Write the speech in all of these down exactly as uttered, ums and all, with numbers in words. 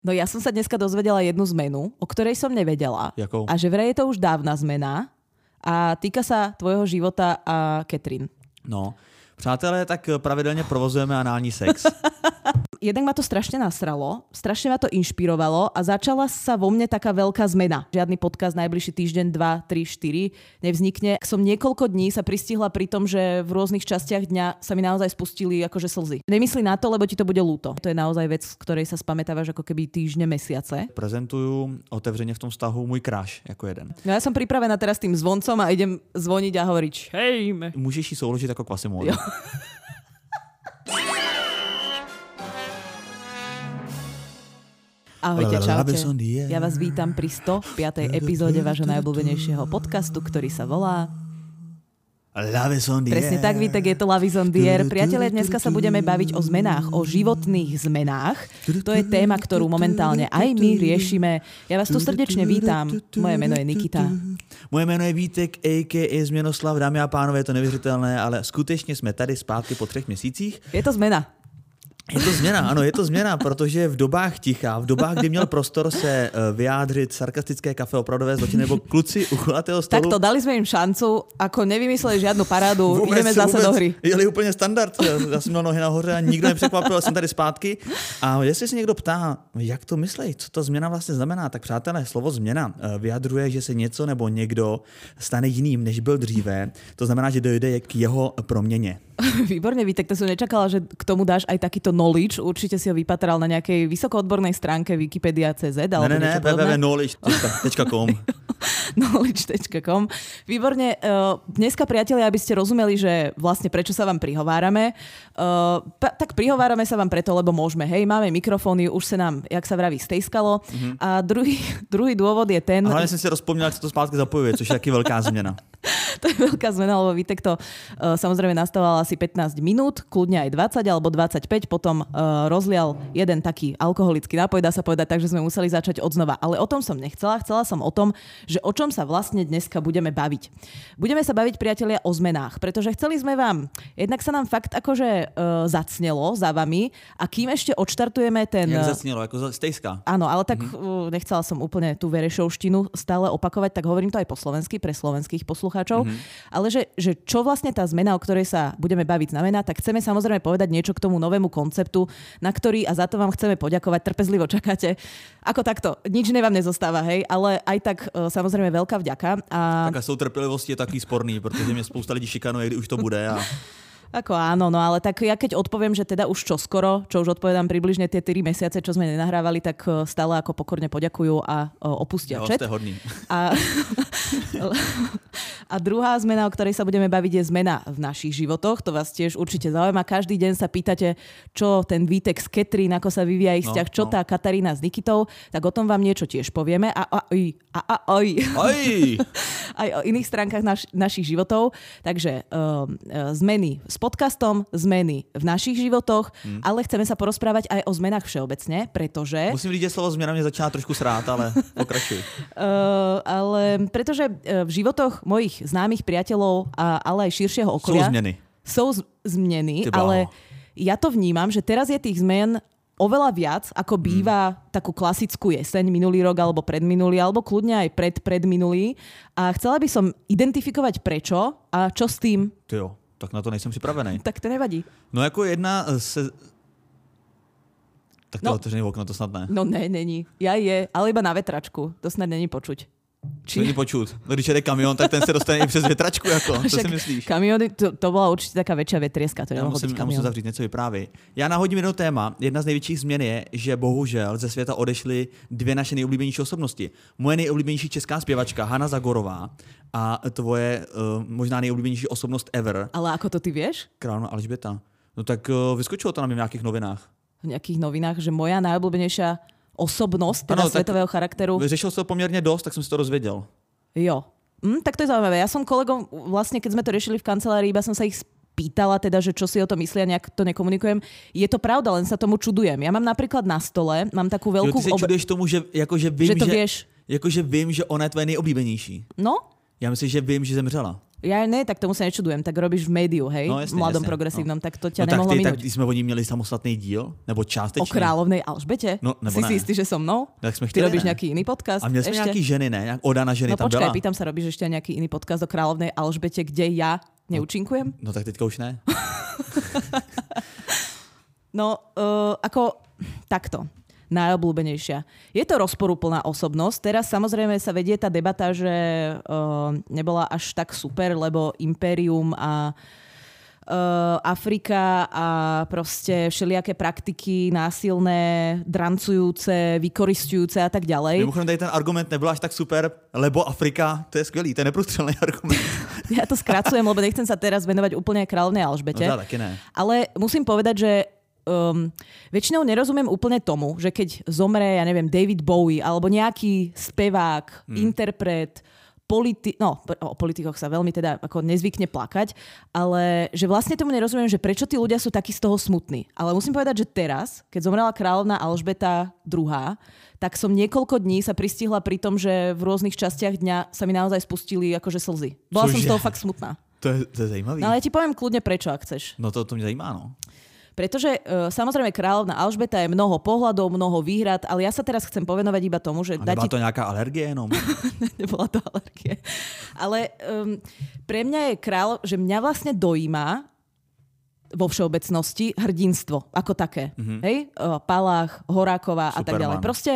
No ja som sa dneska dozvedela jednu zmenu, o ktorej som nevedela. Jakou? A že vraj je to už dávna zmena a týka sa tvojho života a Katrin. No, přátelé, tak pravidelně provozujeme anální sex. Jednak ma to strašne nasralo, strašne ma to inšpirovalo a začala sa vo mne taká veľká zmena. Žiadny podcast najbližší týždeň, dva, tri, štyri nevznikne. Som niekoľko dní sa pristihla pri tom, že v rôznych častiach dňa sa mi naozaj spustili akože slzy. Nemyslí na to, lebo ti to bude ľúto. To je naozaj vec, z ktorej sa spamätávaš ako keby týždne, mesiace. Prezentuju otevřeně v tom vztahu můj crush jako jeden. No ja som pripravená teraz tým zvoncom a idem zvoniť a hovoriť hej. Můžeš ji souložit jako Quasimodo. Ahojte, čaute. Ja vás vítam pri sto piatej epizóde vášho najobľúbenejšieho podcastu, ktorý sa volá Presne tak, Vítek, je to Love is on the air. Priatelia, dneska sa budeme baviť o zmenách, o životných zmenách. To je téma, ktorú momentálne aj my riešime. Ja vás tu srdečne vítam. Moje meno je Nikita. Moje jméno je Vítek, a ká a. Změnoslav. Dámy a pánové, je to neuvěřitelné, ale skutečně jsme tady zpátky po třech měsících. Je to zmena. Je to změna, ano, je to změna, protože v dobách ticha, v dobách, kdy měl prostor se vyjádřit sarkastické kafe opravdové zločiny nebo kluci u kulatého stolu. Takto, dali sme im šancu, ako nevymysleli žiadnu parádu, vůbec, ideme zase vůbec, do hry. Jeli úplně standard, já jsem měl nohy nahoře a nikdo nepřekvapil, jsem tady zpátky. A jestli se někdo ptá, jak to myslí, co ta změna vlastně znamená, tak přátelé, slovo změna vyjadřuje, že se něco nebo někdo stane jiným, než byl dříve. To znamená, že dojde k jeho proměně. Výborne, Vítek, to som nečakala, že k tomu dáš aj takýto knowledge. Určite si ho vypatral na nejakej vysokoodbornej stránke Wikipedia bodka cé zet. Ne, ne, ne, w w w bodka knowledge bodka com. knowledge bodka com. Výborne. Dneska, priatelia, aby ste rozumeli, že vlastne prečo sa vám prihovárame, tak prihovárame sa vám preto, lebo môžeme. Hej, máme mikrofóny, už sa nám, jak sa vraví, stejskalo. Mm-hmm. A druhý, druhý dôvod je ten... A hlavne som si rozpomínal, jak sa to spátky zapojuje, což je taký veľká zmena. To je veľká zmena, lebo Vítek to uh, samozrejme nastával asi pätnásť minút, kľudne aj dvadsať alebo dvadsaťpäť, potom uh, rozlial jeden taký alkoholický nápoj, dá sa povedať, takže sme museli začať odznova. Ale o tom som nechcela, chcela som o tom, že o čom sa vlastne dneska budeme baviť. Budeme sa baviť, priatelia, o zmenách, pretože chceli sme vám, jednak sa nám fakt akože uh, zacnelo za vami a kým ešte odštartujeme ten... Jak zacnelo, ako stejska. Áno, ale tak mm-hmm. uh, nechcela som úplne tú verešovštinu stále opakovať, tak hovorím to aj po slovensky, pre slovenských poslucháčov. Mm-hmm. Ale že, že čo vlastne tá zmena, o ktorej sa budeme baviť, znamená, tak chceme samozrejme povedať niečo k tomu novému konceptu, na ktorý, a za to vám chceme poďakovať, trpezlivo čakáte. Ako takto, nič iné vám nezostáva, hej, ale aj tak samozrejme veľká vďaka. A... Taká sú trpělivosti je taký sporný, protože mě spousta lidí šikanuje, kdy už to bude a... Ako áno, no ale tak ja keď odpoviem, že teda už čoskoro, čo už odpovedám približne tie tri mesiace, čo sme nenahrávali, tak stále ako pokorne poďakujú a opustia jo, chat. Ste hodný. A, a druhá zmena, o ktorej sa budeme baviť, je zmena v našich životoch. To vás tiež určite zaujíma. Každý deň sa pýtate, čo ten Vítek s Katrin, ako sa vyvíja ich vzťah, no, čo no. tá Katarína s Nikitou, tak o tom vám niečo tiež povieme. A, a, a, a, a, aj. aj o iných stránkach naš, našich životov. Takže um, zmeny s podcastom, zmeny v našich životoch, hmm. ale chceme sa porozprávať aj o zmenách všeobecne, pretože... Musím říct, že slovo zmena mě začíná trošku srát, ale pokračuj. uh, ale pretože v životoch mojich známych priateľov, a, ale aj širšieho okolia... Sú zmeny. Sú z- zmeny, ale ja to vnímam, že teraz je tých zmien oveľa viac, ako býva hmm. takú klasickú jeseň minulý rok, alebo predminulý, alebo kľudne aj pred predminulý. A chcela by som identifikovať prečo a čo s tým. Ty jo. Tak na to nejsem připravený. Tak to nevadí. No jako jedna se... Tak to no. otevřený okno, to snad ne. No ne, není. Ja je, ale iba na vetračku. To snad není počuť. Či... Není počuť. No když jede kamion, tak ten se dostane i přes větračku. Jako. Co si myslíš? Kamiony, to, to byla určitě taká větší větrieska. To já musím, já musím zavřít, něco vyprávěj. Já nahodím jedno téma. Jedna z největších změn je, že bohužel ze světa odešly dvě naše nejoblíbenější osobnosti. Moje nejoblíbenější česká zpěvačka Hana Zagorová a tvoje uh, možná nejoblíbenější osobnost ever. Ale ako to ty vieš? Královna Alžběta. No tak uh, vyskočilo to na mě v nějakých novinách. V nějakých novinách, že moja najobľúbenejšia osobnosť teda ano, svetového charakteru. Vyřešil to poměrně dost, tak jsem si to dozvěděl. Jo. Hm, tak to je zaujímavé. Ja som kolegom, vlastne keď sme to riešili v kancelárii, iba som sa ich pýtala, teda, že čo si o tom myslia, nejak to nekomunikujem. Je to pravda, len sa tomu čudujem. Ja mám napríklad na stole, mám takú veľkú... Jo, ty sa čuduješ tomu, že, jako, že vím, že, to že, vieš. Jako, že vím, že ona je tvoje nejoblíbenější. No? Já myslím, že vím, že zemřela. Ja ne, tak tomu sa nečudujem, tak robíš v médiu, hej, no, jasne, v mladom jasne, progresívnom, no. tak to ťa no, nemohlo tak ty, minúť. Tak jsme o ní měli samostatný díl, nebo částečný. O královnej Alžbete? No, nebo si ne. si istý, že so mnou? Tak jsme Ty chtěli, robíš ne? nejaký iný podcast? A měli jsme ešte? nějaký ženy, ne? Jak Oda na ženy no, tam počkaj, byla. pýtam sa, robíš ešte nejaký iný podcast o královnej Alžbete, kde ja neúčinkujem? No, no tak teďka už ne. no, uh, ako takto. Najobľúbenejšia. Je to rozporúplná osobnosť. Teraz samozrejme sa vedie tá debata, že uh, nebola až tak super, lebo Impérium a uh, Afrika a proste všelijaké praktiky násilné, drancujúce, vykoristujúce a tak ďalej. Mimochodem tady ten argument nebyl až tak super, lebo Afrika, to je skvělý, to je neprůstřelný argument. Ja to skracujem, lebo nechcem sa teraz venovať úplne kráľovnej Alžbete. No, taky ne. Ale musím povedať, že Um, väčšinou nerozumiem úplne tomu, že keď zomre, ja neviem, David Bowie alebo nejaký spevák, hmm. interpret, politi- no, o politikoch sa veľmi teda ako nezvykne plakať, ale že vlastne tomu nerozumiem, že prečo tí ľudia sú takí z toho smutní. Ale musím povedať, že teraz, keď zomrela kráľovná Alžbeta druhá, tak som niekoľko dní sa pristihla pri tom, že v rôznych častiach dňa sa mi naozaj spustili akože slzy. Bola Cože? som z toho fakt smutná. To je, to je zajímavý. No ale ja ti poviem kľudne prečo, ak chceš. No to, to mě zajímá, no. Pretože e, samozrejme kráľovná Alžbeta je mnoho pohľadov, mnoho výhrad, ale ja sa teraz chcem povenovať iba tomu, že... A nebyla to nejaká alergie jenom? Nebola to alergie. Ale um, pre mňa je kráľ, že mňa vlastne dojíma vo všeobecnosti hrdinstvo ako také. Mm-hmm. Hej? E, Palach, Horáková a tak ďalej. Proste...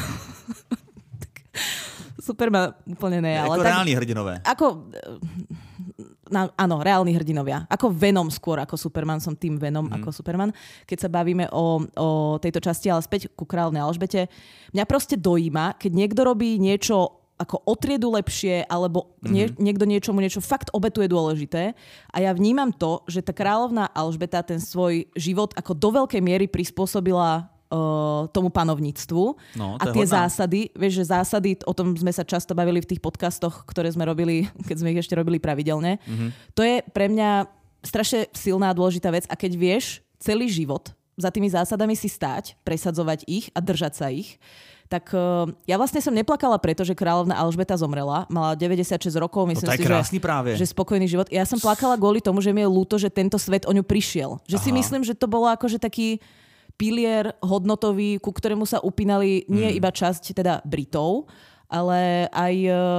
Superman úplne ne. Jako ale reálni tak, hrdinové. Ako... Na, áno, reálni hrdinovia. Ako Venom skôr ako Superman, som tým Venom mm. ako Superman. Keď sa bavíme o, o tejto časti, ale späť ku kráľovnej Alžbete, mňa proste dojíma, keď niekto robí niečo ako o triedu lepšie, alebo nie, mm. niekto niečomu niečo fakt obetuje dôležité. A ja vnímam to, že tá kráľovná Alžbeta ten svoj život ako do veľkej miery prispôsobila Uh, tomu panovníctvu. No, a tie hodná. zásady, vieš, že zásady, o tom sme sa často bavili v tých podcastoch, ktoré sme robili, keď sme ich ešte robili pravidelne. Mm-hmm. To je pre mňa strašne silná a dôležitá vec a keď vieš celý život za tými zásadami si stáť, presadzovať ich a držať sa ich, tak uh, ja vlastne som neplakala preto, že kráľovná Alžbeta zomrela. Mala deväťdesiatšesť rokov, myslím no, si, že, práve. že spokojný život. Ja som plakala kvôli tomu, že mi je ľúto, že tento svet o ňu prišiel. Že Aha. si myslím, že to bolo akože taký pilier hodnotový, ku ktorému sa upínali nie mm. iba časť teda Britov, ale aj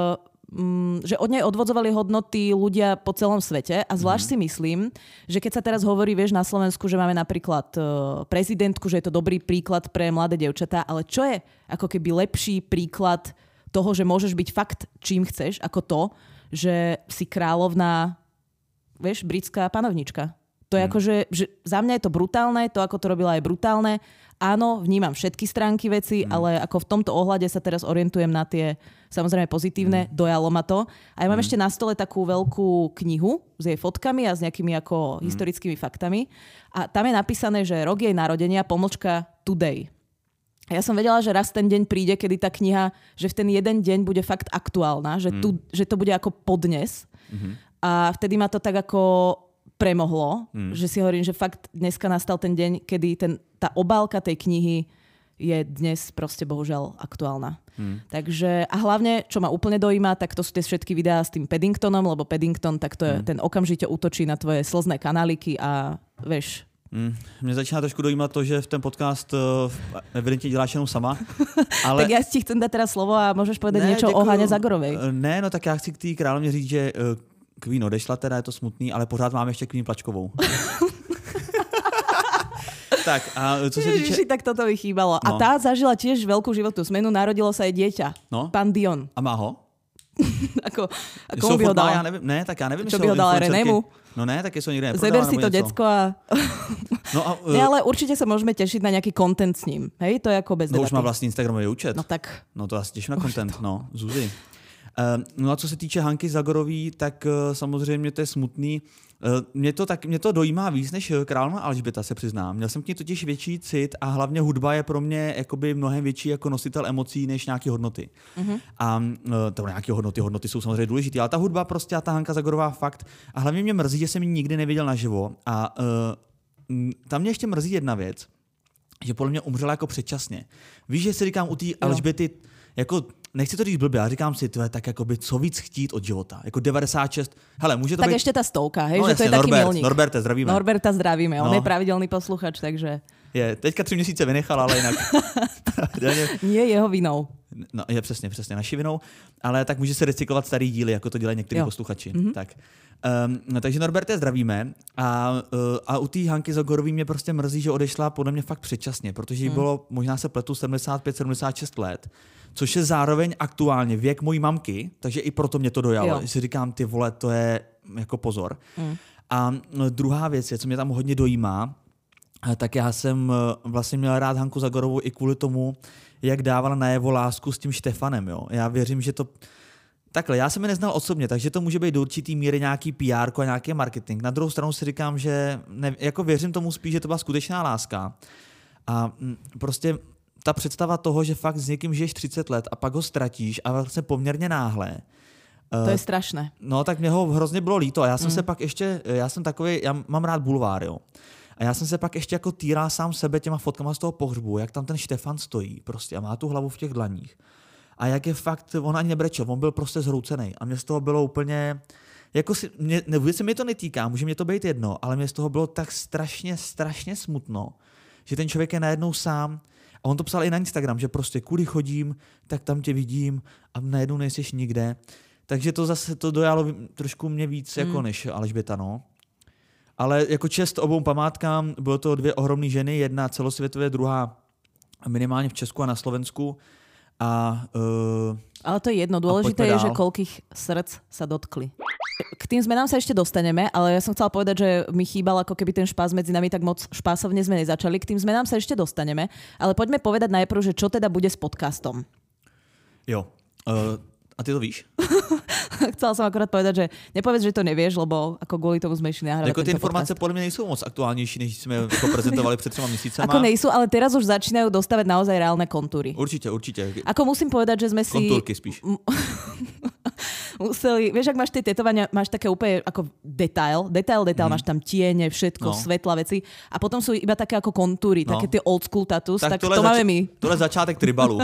um, že od nej odvodzovali hodnoty ľudia po celom svete a zvlášť mm. si myslím, že keď sa teraz hovorí, vieš, na Slovensku, že máme napríklad uh, prezidentku, že je to dobrý príklad pre mladé dievčatá, ale čo je ako keby lepší príklad toho, že môžeš byť fakt čím chceš, ako to, že si kráľovná, vieš, britská panovnička. To je hmm. ako, že, že za mňa je to brutálne, to ako to robila je brutálne. Áno, vnímam všetky stránky veci, hmm. ale ako v tomto ohľade sa teraz orientujem na tie samozrejme pozitívne, hmm. dojalo ma to. A ja mám hmm. ešte na stole takú veľkú knihu s jej fotkami a s nejakými ako hmm. historickými faktami. A tam je napísané, že rok jej narodenia, pomlčka today. A ja som vedela, že raz ten deň príde, kedy tá kniha, že v ten jeden deň bude fakt aktuálna, že, hmm. tu, že to bude ako podnes. Hmm. A vtedy ma to tak ako premohlo, mm. že si hovorím, že fakt dneska nastal ten deň, kedy ten, tá obálka tej knihy je dnes proste bohužiaľ aktuálna. Mm. Takže a hlavne, čo ma úplne dojíma, tak to sú tie všetky videá s tým Paddingtonom, lebo Paddington, tak to je, mm. ten okamžite útočí na tvoje slzné kanáliky a vieš. Mm. Mne začíná trošku dojímat to, že v ten podcast uh, evidentně děláš jenom sama. Ale... tak ja ti chcem dať teraz slovo a môžeš povedať ne, niečo děkuju. o Hane Zagorovej. Ne, no tak já chci k té královně říct, že uh, Queen odešla, teda je to smutný, ale pořád máme ještě Queen Plačkovou. Tak a co se týče... Ježiši, tak toto mi chýbalo. No. A tá zažila tiež veľkú životnú zmenu, narodilo sa jej dieťa. No. Pán Dion. A má ho? ako, a komu by ho dala? Já nevím, ne, tak já nevím, čo by ho dala Renému? No ne, tak jsou někde neprodala. Zeber si to decko a... no a uh... ne, ale určite sa môžeme tešiť na nejaký content s ním. Hej, to je ako bez no, debaty. už má vlastní Instagramový účet. No tak. No to asi těším na content, no, Zuzi. No a co se týče Hanky Zagorový, tak samozřejmě to je smutný. Mě to, tak, mě to dojímá víc než královna Alžběta, se přiznám. Měl jsem k ní totiž větší cit a hlavně hudba je pro mě jakoby mnohem větší jako nositel emocí než nějaké hodnoty. Mm-hmm. A to nějaké hodnoty, hodnoty jsou samozřejmě důležité, ale ta hudba prostě a ta Hanka Zagorová fakt. A hlavně mě mrzí, že jsem ji nikdy neviděl naživo. A uh, tam mě ještě mrzí jedna věc, že podle mě umřela jako předčasně. Víš, že si říkám u té Alžběty, jako nechci to říct blbě, já říkám si, to je tak jakoby, co víc chtít od života. Jako devadesát šest. Hele, může to tak být... ešte tá stovka, hej, no, že jasně, to je Norbert, taký milník. Norberta, zdravíme. Norberta zdravíme, on no. je pravidelný posluchač, takže... Je, teďka tři měsíce vynechal, ale jinak... Nie jeho vinou. No, je přesně, přesně naší vinou, ale tak může se recyklovat starý díly, jako to dělají někteří posluchači. Mm-hmm. Tak. Um, no, takže Norberte zdravíme a, uh, a u té Hanky Zagorový mě prostě mrzí, že odešla podle mě fakt předčasně, protože jí mm. bylo, možná se pletu, sedmdesát pět sedmdesát šest let, což je zároveň aktuálně věk mojí mamky, takže i proto mě to dojalo. Že si říkám, ty vole, to je jako pozor. Mm. A no, druhá věc je, co mě tam hodně dojímá, tak já jsem vlastně měl rád Hanku Zagorovou i kvůli tomu, jak dávala najevo lásku s tím Štefanem. Jo. Já věřím, že to... Takhle, já jsem je neznal osobně, takže to může být do určitý míry nějaký P R a nějaký marketing. Na druhou stranu si říkám, že ne, jako věřím tomu spíš, že to byla skutečná láska. A prostě ta představa toho, že fakt s někým žiješ třicet let a pak ho ztratíš a vlastně poměrně náhle. To je strašné. No tak mě ho hrozně bylo líto. A já jsem mm. se pak ještě, já jsem takový, já mám rád bulvár, jo. A já jsem se pak ještě jako týral sám sebe těma fotkama z toho pohřbu, jak tam ten Štefan stojí prostě a má tu hlavu v těch dlaních. A jak je fakt, on ani nebrečel, on byl prostě zhroucený. A mě z toho bylo úplně, jako si, mě, ne, vůbec se mi to netýká, může mě to být jedno, ale mě z toho bylo tak strašně, strašně smutno, že ten člověk je najednou sám. A on to psal i na Instagram, že prostě kudy chodím, tak tam tě vidím a najednou nejseš nikde. Takže to zase to dojalo trošku mě víc mm. jako než Alžběta, no. Ale jako čest obou památkám, bylo to dvě ohromné ženy, jedna celosvětově, druhá minimálně v Česku a na Slovensku. A, uh, ale to je jedno, dôležité je, že koľkých srdc sa dotkli. K tým zmenám sa ešte dostaneme, ale ja som chcela povedať, že mi chýbal ako keby ten špás medzi nami, tak moc špásovne sme nezačali. K tým zmenám sa ešte dostaneme, ale poďme povedať najprv, že čo teda bude s podcastom. Jo, uh, a ty to víš? Chcela som akorát povedať, že nepovedz, že to nevieš, lebo ako kvôli tomu sme išli nahrávať jako tento ty informace podcast. podľa mňa nejsou moc aktuálnější, než jsme to prezentovali před třema měsícema. Ako nejsú, ale teraz už začínajú dostávať naozaj reálne kontúry. Určite, určite. Ako musím povedať, že sme si... Kontúrky spíš. Museli, vieš, ak máš tie tetovania, máš také úplne ako detail, detail, detail, mm. máš tam tiene, všetko, no. Svetla, veci a potom sú iba také ako kontúry, no. Také tie old school tattoos, tak, tak to máme my. Tohle je začátek tribalu.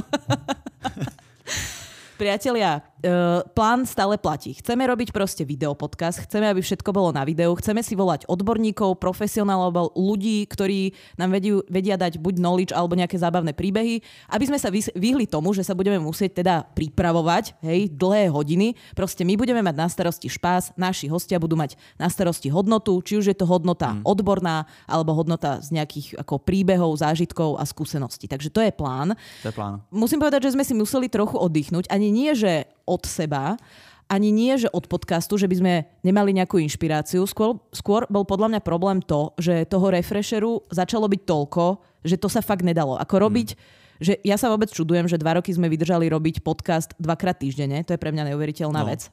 Priatelia, uh, plán stále platí. Chceme robiť proste videopodcast, chceme, aby všetko bolo na videu, chceme si volať odborníkov, profesionálov, alebo ľudí, ktorí nám vedú, vedia dať buď knowledge alebo nejaké zábavné príbehy, aby sme sa vyhli tomu, že sa budeme musieť teda pripravovať, hej, dlhé hodiny. Proste my budeme mať na starosti špás, naši hostia budú mať na starosti hodnotu, či už je to hodnota mm. odborná, alebo hodnota z nejakých ako príbehov, zážitkov a skúseností. Takže to je plán. To je plán. Musím povedať, že sme si museli trochu oddychnúť. Ani nie, že od seba, ani nie, že od podcastu, že by sme nemali nejakú inšpiráciu. Skôr, skôr bol podľa mňa problém to, že toho refresheru začalo byť toľko, že to sa fakt nedalo. Ako robiť, hmm. že ja sa vôbec čudujem, že dva roky sme vydržali robiť podcast dvakrát týždenne. To je pre mňa neuveriteľná no. vec.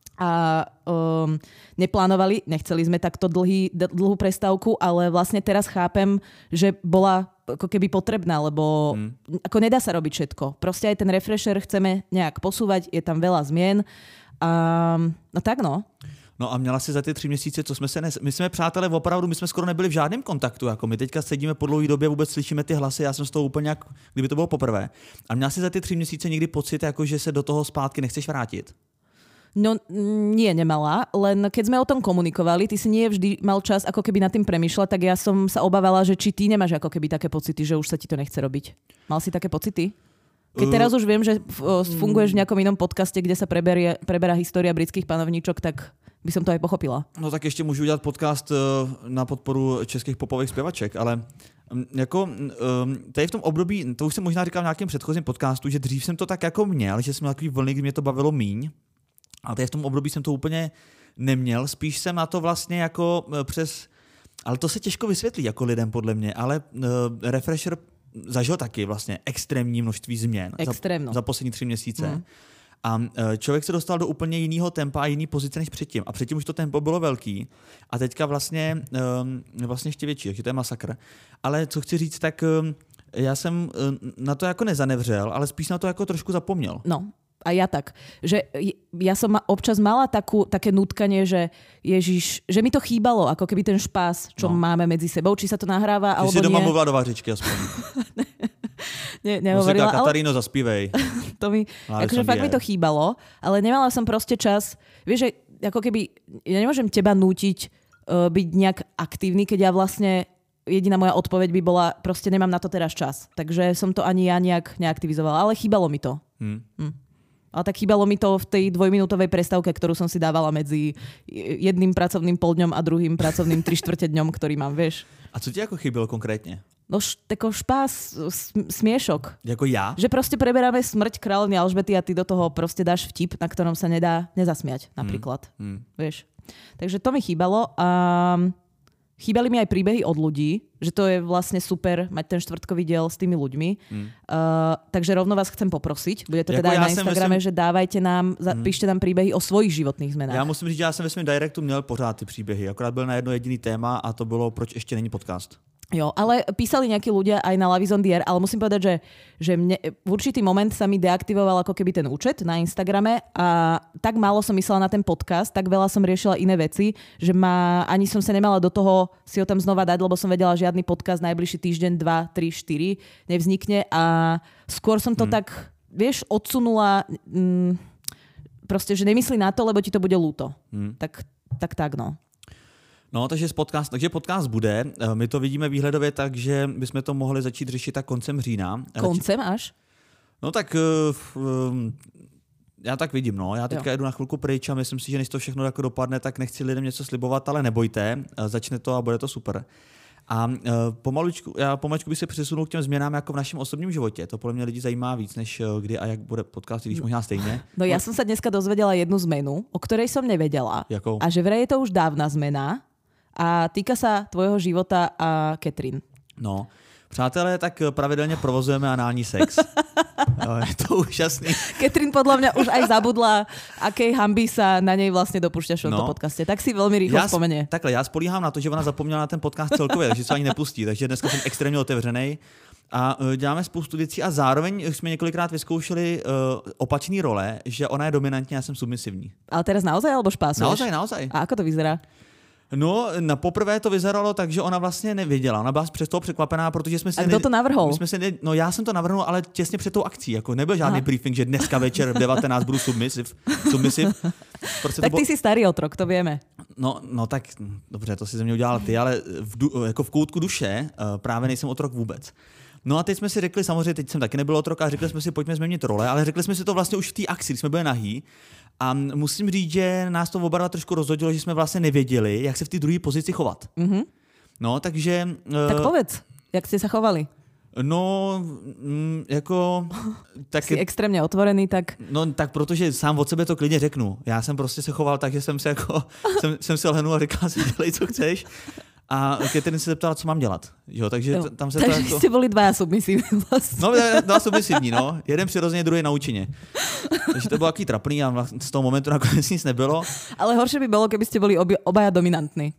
A um, neplánovali, nechceli sme takto dlhý, dlhú prestávku, ale vlastne teraz chápem, že bola ako keby potrebná, lebo hmm. ako nedá sa robiť všetko. Proste aj ten refresher chceme nejak posúvať, je tam veľa zmien. A, no tak no. No a měla si za ty tři měsíce, co jsme se nes... My jsme, přátelé, opravdu, my jsme skoro nebyli v žádném kontaktu. Jako my teďka sedíme po dlouhé době, vůbec slyšíme ty hlasy, já jsem z toho úplně jak, kdyby to bylo poprvé. A měla si za ty tři měsíce někdy pocit, jako, že se do toho zpátky nechceš vrátit? No nie, nemala, len keď sme o tom komunikovali, ty si nie vždy mal čas ako keby nad tým premýšľať, tak ja som sa obávala, že či ty nemáš ako keby také pocity, že už sa ti to nechce robiť. Mal si také pocity? Keď teraz už viem, že funguješ v nejakom inom podcaste, kde sa preberie, preberá história britských panovníčok, tak by som to aj pochopila. No tak ještě můžu udělat podcast na podporu českých popových zpěvaček, ale jako tady v tom období, to už jsem možná říkal v nějakém předchozím podcastu, že dřív jsem to tak jako měl, že jsem měl takový vlny, kdy mě to bavilo míň. A tady v tom období jsem to úplně neměl, spíš jsem na to vlastně jako přes, ale to se těžko vysvětlí jako lidem podle mě, ale uh, Refresher zažil taky vlastně extrémní množství změn za, za poslední tři měsíce. Mm. A uh, člověk se dostal do úplně jiného tempa a jiný pozice než předtím. A předtím už to tempo bylo velký a teďka vlastně, um, vlastně ještě větší, takže to je masakr. Ale co chci říct, tak um, já jsem uh, na to jako nezanevřel, ale spíš na to jako trošku zapomněl. No. A ja tak, že ja som občas mala takú, také nutkanie, že Ježiš, že mi to chýbalo, ako keby ten špás, čo no. máme medzi sebou, či sa to nahráva, alebo nie. Ty si doma mluvila do vařičky aspoň. ne, nehovorila. Musíka, Kataríno, zaspívej. To mi, akože fakt mi to chýbalo, ale nemala som proste čas, vieš, že ako keby, ja nemôžem teba nútiť uh, byť nejak aktívny, keď ja vlastne, jediná moja odpoveď by bola, proste nemám na to teraz čas. Takže som to ani ja nejak neaktivizovala, ale chýbalo mi to. Hmm. Hm. Ale tak chýbalo mi to v tej dvojminútovej prestávke, ktorú som si dávala medzi jedným pracovným poldňom a druhým pracovným tri štvrte dňom, ktorý mám, vieš. A co ti ako chybilo konkrétne? No tako špás, smiešok. Jako ja? Že proste preberáme smrť kráľovny Alžbety a ty do toho proste dáš vtip, na ktorom sa nedá nezasmiať, napríklad. Mm. Mm. Vieš. Takže to mi chýbalo a chýbali mi aj príbehy od ľudí, že to je vlastne super mať ten štvrtkový diel s tými ľuďmi. Mm. Uh, takže rovno vás chcem poprosiť. Bude to jako teda aj na Instagrame, myslím... že dávajte nám, mm. píšte nám príbehy o svojich životných zmenách. Já musím říct, že já jsem ve svém directu měl pořád ty příběhy. Akorát byl na jedno jediný téma a to bylo, proč ještě není podcast. Jo, ale písali nejakí ľudia aj na Love is on the air, ale musím povedať, že, že mne, v určitý moment sa mi deaktivoval ako keby ten účet na Instagrame a tak málo som myslela na ten podcast, tak veľa som riešila iné veci, že ma, ani som sa nemala do toho si ho tam znova dať, lebo som vedela, žiadny podcast najbližší týždeň, dva, tri, štyri nevznikne a skôr som to hmm. tak, vieš, odsunula mm, proste, že nemyslí na to, lebo ti to bude ľúto. Hmm. Tak, tak, tak, no. No, takže podcast, takže podcast bude. My to vidíme výhledově tak, že bychom to mohli začít řešit tak koncem října. Koncem až? No tak um, já tak vidím, no. Já teďka jo. jedu na chvilku pryč a myslím si, že než to všechno jako dopadne, tak nechci lidem něco slibovat, ale nebojte, začne to a bude to super. A uh, pomalučku, já pomaličku bych se přesunul k těm změnám jako v našem osobním životě. To podle mě lidi zajímá víc, než kdy a jak bude podcast, když možná stejně. No já jsem se dneska dozvedela jednu zmenu, o ktorej som nevedela. Jakou? A že vraj je to už dávna zmena. A týka sa tvojho života a Katrin. No, přátelé, tak pravidelně provozujeme anální sex. No, je to úžasný. Katrin podľa mňa už aj zabudla, akej hanby sa na nej vlastne dopúšťaš v tomto no. podcaste. Tak si veľmi rýchlo já, spomenie. Takhle, já spolíhám na to, že ona zapomněla na ten podcast celkově, takže se ani nepustí. Takže dneska jsem extrémně otevřenej. A uh, děláme spoustu věcí a zároveň jsme několikrát vyzkoušeli uh, opačný role, že ona je dominantní a já jsem submisivní. Ale teraz naozaj alebo špásuješ? Naozaj, naozaj. A ako to vyzerá? No, na poprvé to vyzeralo tak, že ona vlastně nevěděla. Ona byla přes toho překvapená, protože jsme si... A kdo to navrhol? My jsme si ne, no já jsem to navrhnul, ale těsně před tou akcí. Jako nebyl žádný Aha. briefing, že dneska večer v devatenáct budu submisiv. submisiv. Prostě tak ty bylo... jsi starý otrok, to víme. No, no tak, dobře, to si ze mě udělal ty, ale v, du, jako v koutku duše uh, právě nejsem otrok vůbec. No a teď jsme si řekli, samozřejmě teď jsem taky nebyl otrok a řekli jsme si, pojďme změnit role, ale řekli jsme si to vlastně už v té akci, když jsme byli nahý. A musím říct, že nás to oba trošku rozhodilo, že jsme vlastně nevěděli, jak se v té druhé pozici chovat. Mm-hmm. No, takže... Tak povedz, jak jste se chovali? No, mm, jako... Tak, jsi extrémně otvorený, tak... No, tak protože sám od sebe to klidně řeknu. Já jsem prostě se choval tak, že jsem se jako... jsem, jsem se lhnul a říkal si, dělej, co chceš. A Katrin se zeptala, co mám dělat. Jo, takže jo. tam se takže to jako... jste byli dva submisivní vlastně. No, dva submisivní, no. Jeden přirozeně, druhý na účině. Takže to bylo takový trapný a z toho momentu nakonec nic nebylo. Ale horšie by bylo, keby ste boli obi, obaja dominantní.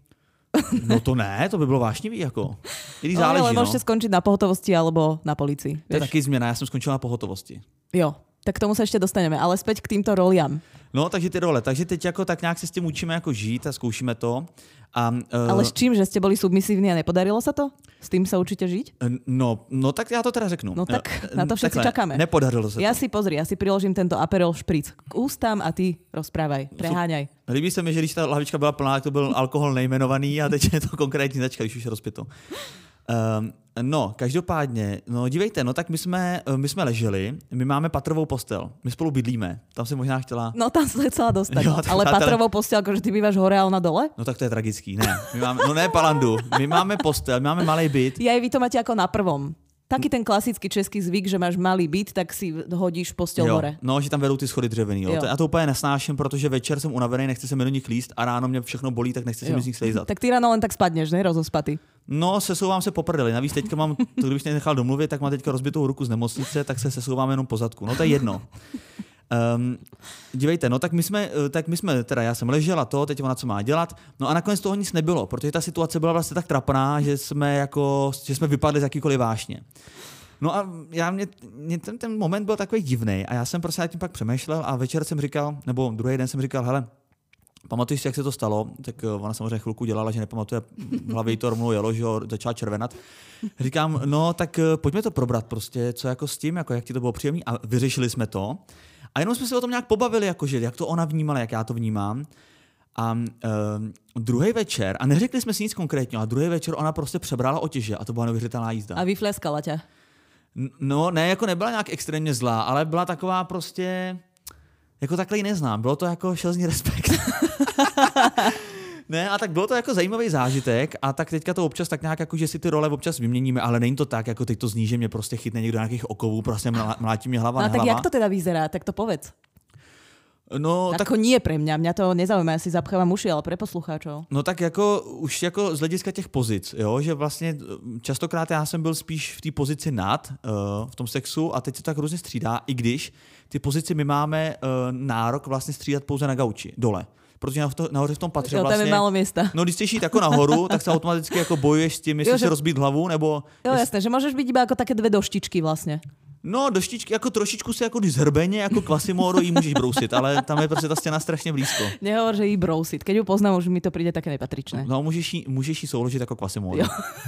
No to ne, to by bylo vášnivý, jako. Když no, záleží, ale môžete no. skončiť na pohotovosti alebo na policii. To je taky změna, já jsem skončil na pohotovosti. Jo, tak k tomu se ještě dostaneme, ale zpět k týmto roliam. No, takže ty role. Takže teď jako tak nějak se s tím učíme jako žít a zkoušíme to. A, uh, ale s čím, že ste boli submisívni a nepodarilo sa to? S tým sa určite žiť? No, no tak já to teda řeknu. No tak na to všetci Takhle, čakáme. Nepodarilo se ja to. si pozri, ja si priložím tento Aperol špric k ústám a ty rozprávaj, preháňaj. Líbí se mi, že když ta hlavička byla plná, tak to byl alkohol nejmenovaný a teď je to konkrétní značka, když už je rozpito. Um, no, každopádně, no dívejte, no tak my jsme, my jsme leželi, my máme patrovou postel, my spolu bydlíme, tam si možná chtěla... No tam se chcela dostat, jo, ale přátelé... patrovou postel, jakože ty býváš hore a ona dole? No tak to je tragický, ne, my máme, no ne palandu, my máme postel, my máme malý byt. Ja, vy to máte jako na prvom. Taký ten klasický český zvyk, že máš malý byt, tak si hodíš postel hore. No, že tam vedou ty schody dřevěný. Jo. Jo. Já to úplně nesnáším, protože večer jsem unavený, nechci se mi do nich líst a ráno mě všechno bolí, tak nechci se mi z nich slejzat. Tak ty ráno len tak spadneš, ne? Rozospatý. No, sesouvám se po prdeli. Navíc teďka mám, to kdybych nechal domluvit, tak mám teďka rozbitou ruku z nemocnice, tak se sesouvám jenom po zadku. No to je jedno. Um, dívejte, no tak my jsme, tak my jsme, teda já jsem ležela to, teď ona co má dělat, no a nakonec toho nic nebylo, protože ta situace byla vlastně tak trapná, že jsme jako, že jsme vypadli z jakýkoliv vášně. No a já mě, mě ten, ten moment byl takový divný a já jsem prostě tím pak přemýšlel a večer jsem říkal, nebo druhý den jsem říkal, hele, pamatuješ si, jak se to stalo? Tak ona samozřejmě chvilku dělala, že nepamatuje, v hlavě jí to rovnou jelo, že jo, začala červenat. Říkám, no tak pojďme to probrat prostě, co jako s tím, jako jak ti to bylo příjemný a vyřešili jsme to. A jenom jsme se o tom nějak pobavili, jakože, jak to ona vnímala, jak já to vnímám. A uh, druhý večer, a neřekli jsme si nic konkrétního, a druhý večer ona prostě přebrala otěže a to byla neuvěřitelná jízda. A vyfleskala tě? No, ne, jako nebyla nějak extrémně zlá, ale byla taková prostě, jako takhle ji neznám, bylo to jako šelzný respekt. Ne, a tak bylo to jako zajímavý zážitek a tak teďka to občas tak nějak jako, že si ty role občas vyměníme, ale není to tak, jako teď to zní, že mě prostě chytne někdo nějakých okovů, prostě mlátí mě hlava no, na hlava. Tak jak to teda vyzerá, tak to povedz. No, tak... Ako nie pre mňa, mňa to nezaujíma, ja si zapchávam uši, ale pre poslucháčov. No tak jako už jako z hlediska těch pozic, jo, že vlastně častokrát já jsem byl spíš v té pozici nad uh, v tom sexu a teď se to tak různě střídá, i když ty pozici my máme uh, nárok vlastně střídat pouze na gauči, dole. Protože nahoře v tom patře jo, vlastně... tam je málo miesta. No když chceš jít jako nahoru, tak se automaticky jako bojuješ s tím, jestli jo, že... si rozbít hlavu, nebo... Jo, jasné, že môžeš byť iba ako také dve doštičky vlastne. No, doštičky, jako trošičku si jako když zhrbeně, jako Quasimodo jí můžeš brousit, ale tam je prostě ta stěna strašně blízko. Nehovor, že jí brousit. Keď ju poznám, už mi to přijde také nepatričné. No, můžeš jí, můžeš jí souložit jako Quasimodo.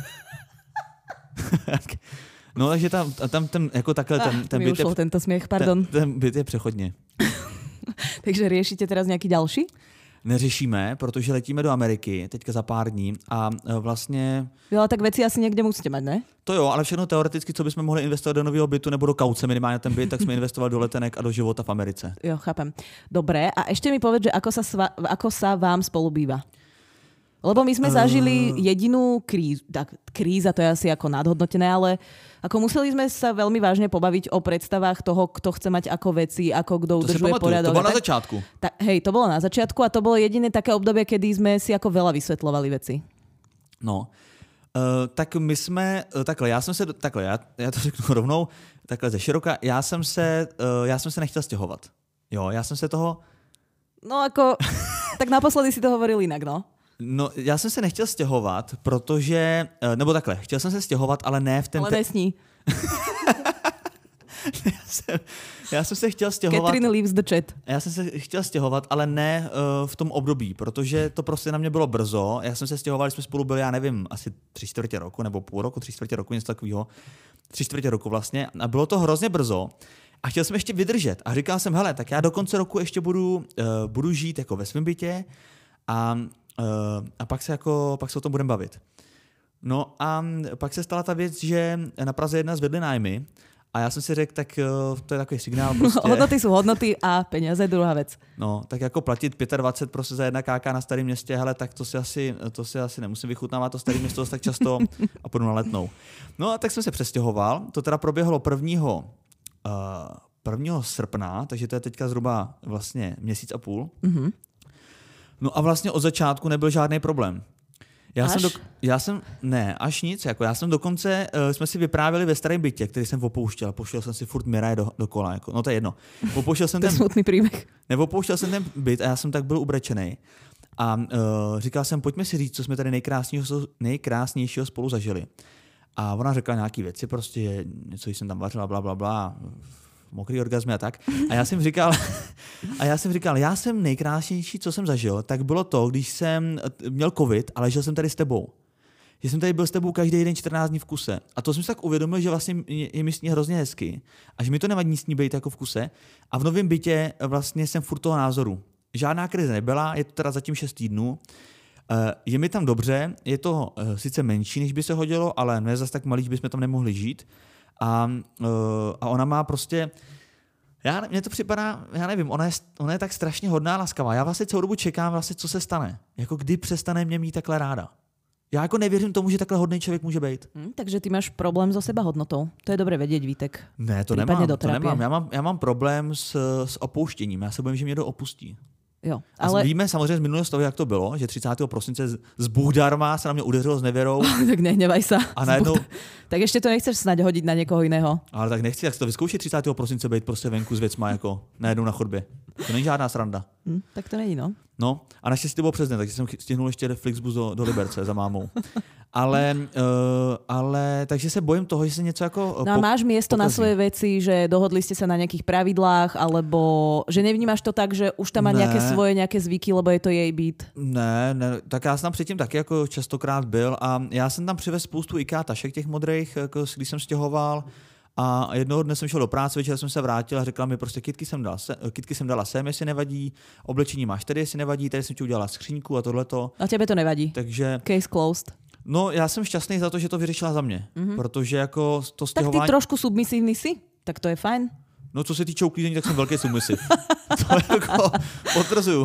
No, takže tam, tam ten, jako takhle, ten, ten, byt je, tento směch, pardon. Ten, ten byt je přechodně. Takže riešite teraz nějaký další? Neřešíme, protože letíme do Ameriky teďka za pár dní a vlastně... Jo, tak věci asi někde musíte mít, ne? To jo, ale všechno teoreticky, co bychom mohli investovat do nového bytu nebo do kauce minimálně ten byt, tak jsme investovali do letenek a do života v Americe. Jo, chápem. Dobré, a ešte mi povedz, že ako sa, sva, ako sa vám spolu býva? Lebo my sme uh... zažili jedinú krízu, tak kríza to je asi ako nadhodnotené, ale ako museli sme sa veľmi vážne pobaviť o predstavách toho, kto chce mať ako veci, ako kto udržuje poriadok. To bolo na začiatku. Ta, hej, to bolo na začiatku a to bolo jediné také obdobie, kedy sme si ako veľa vysvetľovali veci. No, uh, tak my jsme, uh, takhle, já jsem se, takhle, já, já to řeknu rovnou, takhle ze široka, já jsem se, uh, já jsem se nechtěl stěhovat. Jo, já jsem se toho... No ako, tak naposledy si to hovoril jinak, no. No, já jsem se nechtěl stěhovat, protože, nebo takhle, chtěl jsem se stěhovat, ale ne v ten... Ale nesní. já, jsem, já jsem se chtěl stěhovat... Catherine leaves the chat. Já jsem se chtěl stěhovat, ale ne uh, v tom období, protože to prostě na mě bylo brzo. Já jsem se stěhoval, jsme spolu byli, já nevím, asi tři čtvrtě roku, nebo půl roku, tři čtvrtě roku, něco takového. Tři čtvrtě roku vlastně. A bylo to hrozně brzo. A chtěl jsem ještě vydržet. A říkal jsem, hele, tak já do konce roku ještě budu, uh, budu žít jako ve svém bytě a... Uh, a pak se, jako, pak se o tom budeme bavit. No a pak se stala ta věc, že na Praze jedna zvedli nájmy a já jsem si řekl, tak uh, to je takový signál prostě. Hodnoty jsou hodnoty a peníze je druhá věc. No, tak jako platit dvacet pět prostě za jedna káka na starém městě, hele, tak to si asi, to si asi nemusím vychutnávat to staré město tak často a půjdu na Letnou. No a tak jsem se přestěhoval, to teda proběhlo prvního, uh, prvního srpna, takže to je teďka zhruba vlastně měsíc a půl. Mm-hmm. No a vlastně od začátku nebyl žádný problém. Já až? jsem, do, já jsem, ne, až nic, jako já jsem dokonce, uh, jsme si vyprávěli ve starém bytě, který jsem opouštěl, pouštěl jsem si furt Miraje do, dokola, jako, no to je jedno. Opouštěl jsem to je ten, smutný příběh. Neopouštěl jsem ten byt a já jsem tak byl ubrečenej. A uh, říkal jsem, pojďme si říct, co jsme tady nejkrásnějšího, nejkrásnějšího spolu zažili. A ona řekla nějaký věci, prostě něco jsem tam vařila, bla, bla, bla, mokrý orgazmy a tak. A já jsem říkal, a já jsem říkal, já jsem nejkrásnější, co jsem zažil, tak bylo to, když jsem měl covid, ale žil jsem tady s tebou. Že jsem tady byl s tebou každý den čtrnáct dní v kuse. A to jsem si tak uvědomil, že vlastně je mi s ní hrozně hezky. A že mi to nevadí s ní být jako v kuse. A v novém bytě vlastně jsem furt toho názoru. Žádná krize nebyla, je to teda zatím šest týdnů. Je mi tam dobře, je to sice menší, než by se hodilo, ale ne zase tak malý, že bychom tam nemohli žít. A, a ona má prostě, já, mně to připadá, já nevím, ona je, ona je tak strašně hodná, laskavá. Já vlastně celou dobu čekám, vlastně, co se stane. Jako kdy přestane mě mít takhle ráda. Já jako nevěřím tomu, že takhle hodný člověk může být. Hmm, takže ty máš problém so sebahodnotou. To je dobré vědět, Vítek. Ne, to nemám, to nemám. Já mám, já mám problém s, s opouštěním. Já se bojím, že mě to opustí. Jo, ale... A víme samozřejmě z minulosti toho, jak to bylo, že třicátého prosince z Bůh darma se na mě udeřilo s nevěrou. Tak nehnevaj sa. A najednou... Tak ještě to nechceš snad hodit na někoho jiného. Ale tak nechci, jak to vyzkoušet třicátého prosince být prostě venku s věcma jako najednou na chodbě. To není žádná sranda. Hm, tak to není, no. No a naštěstí to bylo přes den, takže jsem stihnul ještě Flixbus do, do Liberce za mámou. Ale, uh, ale takže se bojím toho, že se něco jako No a máš miesto pokazí na svoje veci, že dohodli ste sa na nejakých pravidlách, alebo že nevnímáš to tak, že už tam má ne. nejaké svoje nejaké zvyky, lebo je to jej byt? Ne, ne, tak já jsem tam předtím taky jako častokrát byl a já jsem tam přivez spoustu IKEA tašek těch modrých, jako, když jsem stěhoval. A jednoho dne jsem šel do práce, večer jsem se vrátil a řekla mi prostě, kytky jsem, dal se, kytky jsem dala sem, jestli nevadí, oblečení máš tady, jestli nevadí, tady jsem ti udělala skříňku a tohleto. A tebe to nevadí? Takže... Case closed. No, já jsem šťastný za to, že to vyřešila za mě, mm-hmm. protože jako to stěhování... Tak ty trošku submisívny si, tak to je fajn. No, co se týče uklízení, tak jsem velký submisiv. To jako potvrzuju.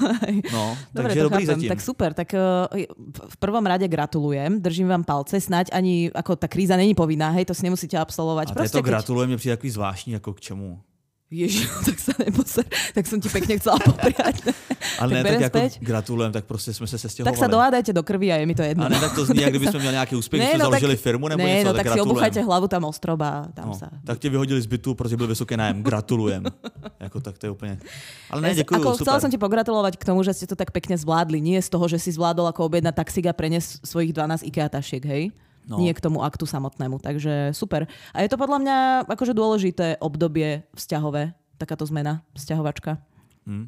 No, dobre, takže dobrý zatím. Tak super, tak uh, v prvom rade gratulujem, držím vám palce, snáď ani ako tá kríza není povinná, hej, to si nemusíte absolvovať. A to keď... gratulujem, mě přijde takový zvláštní, jako k čemu? Ježiš, tak sa neposer, tak som ti pekne chcela popriať. Ale ne, tak jako gratulujem, tak prostě jsme se sestěhovali. Tak sa dohádajte do krvi a je mi to jedno. A ne, tak to zní, jak kdyby jsme měli nějaký úspěch, že jsme no, založili tak, firmu nebo ne, něco, no, tak, tak si obuchajte hlavu tam ostroba. Tam no, sa... Tak tě vyhodili z bytu, protože byl vysoký nájem. Gratulujem. Jako tak to je úplně... Ale ne, děkuju, ako, super. Chcela som ti pogratulovať k tomu, že ste to tak pekne zvládli. Nie z toho, že si zvládol ako objednať taxík a preniesť svojich dvanásť IKEA tašiek, hej? No. Nie k tomu aktu samotnému, takže super. A je to podľa mňa akože dôležité obdobie vzťahové, takáto zmena, vzťahovačka. Hmm.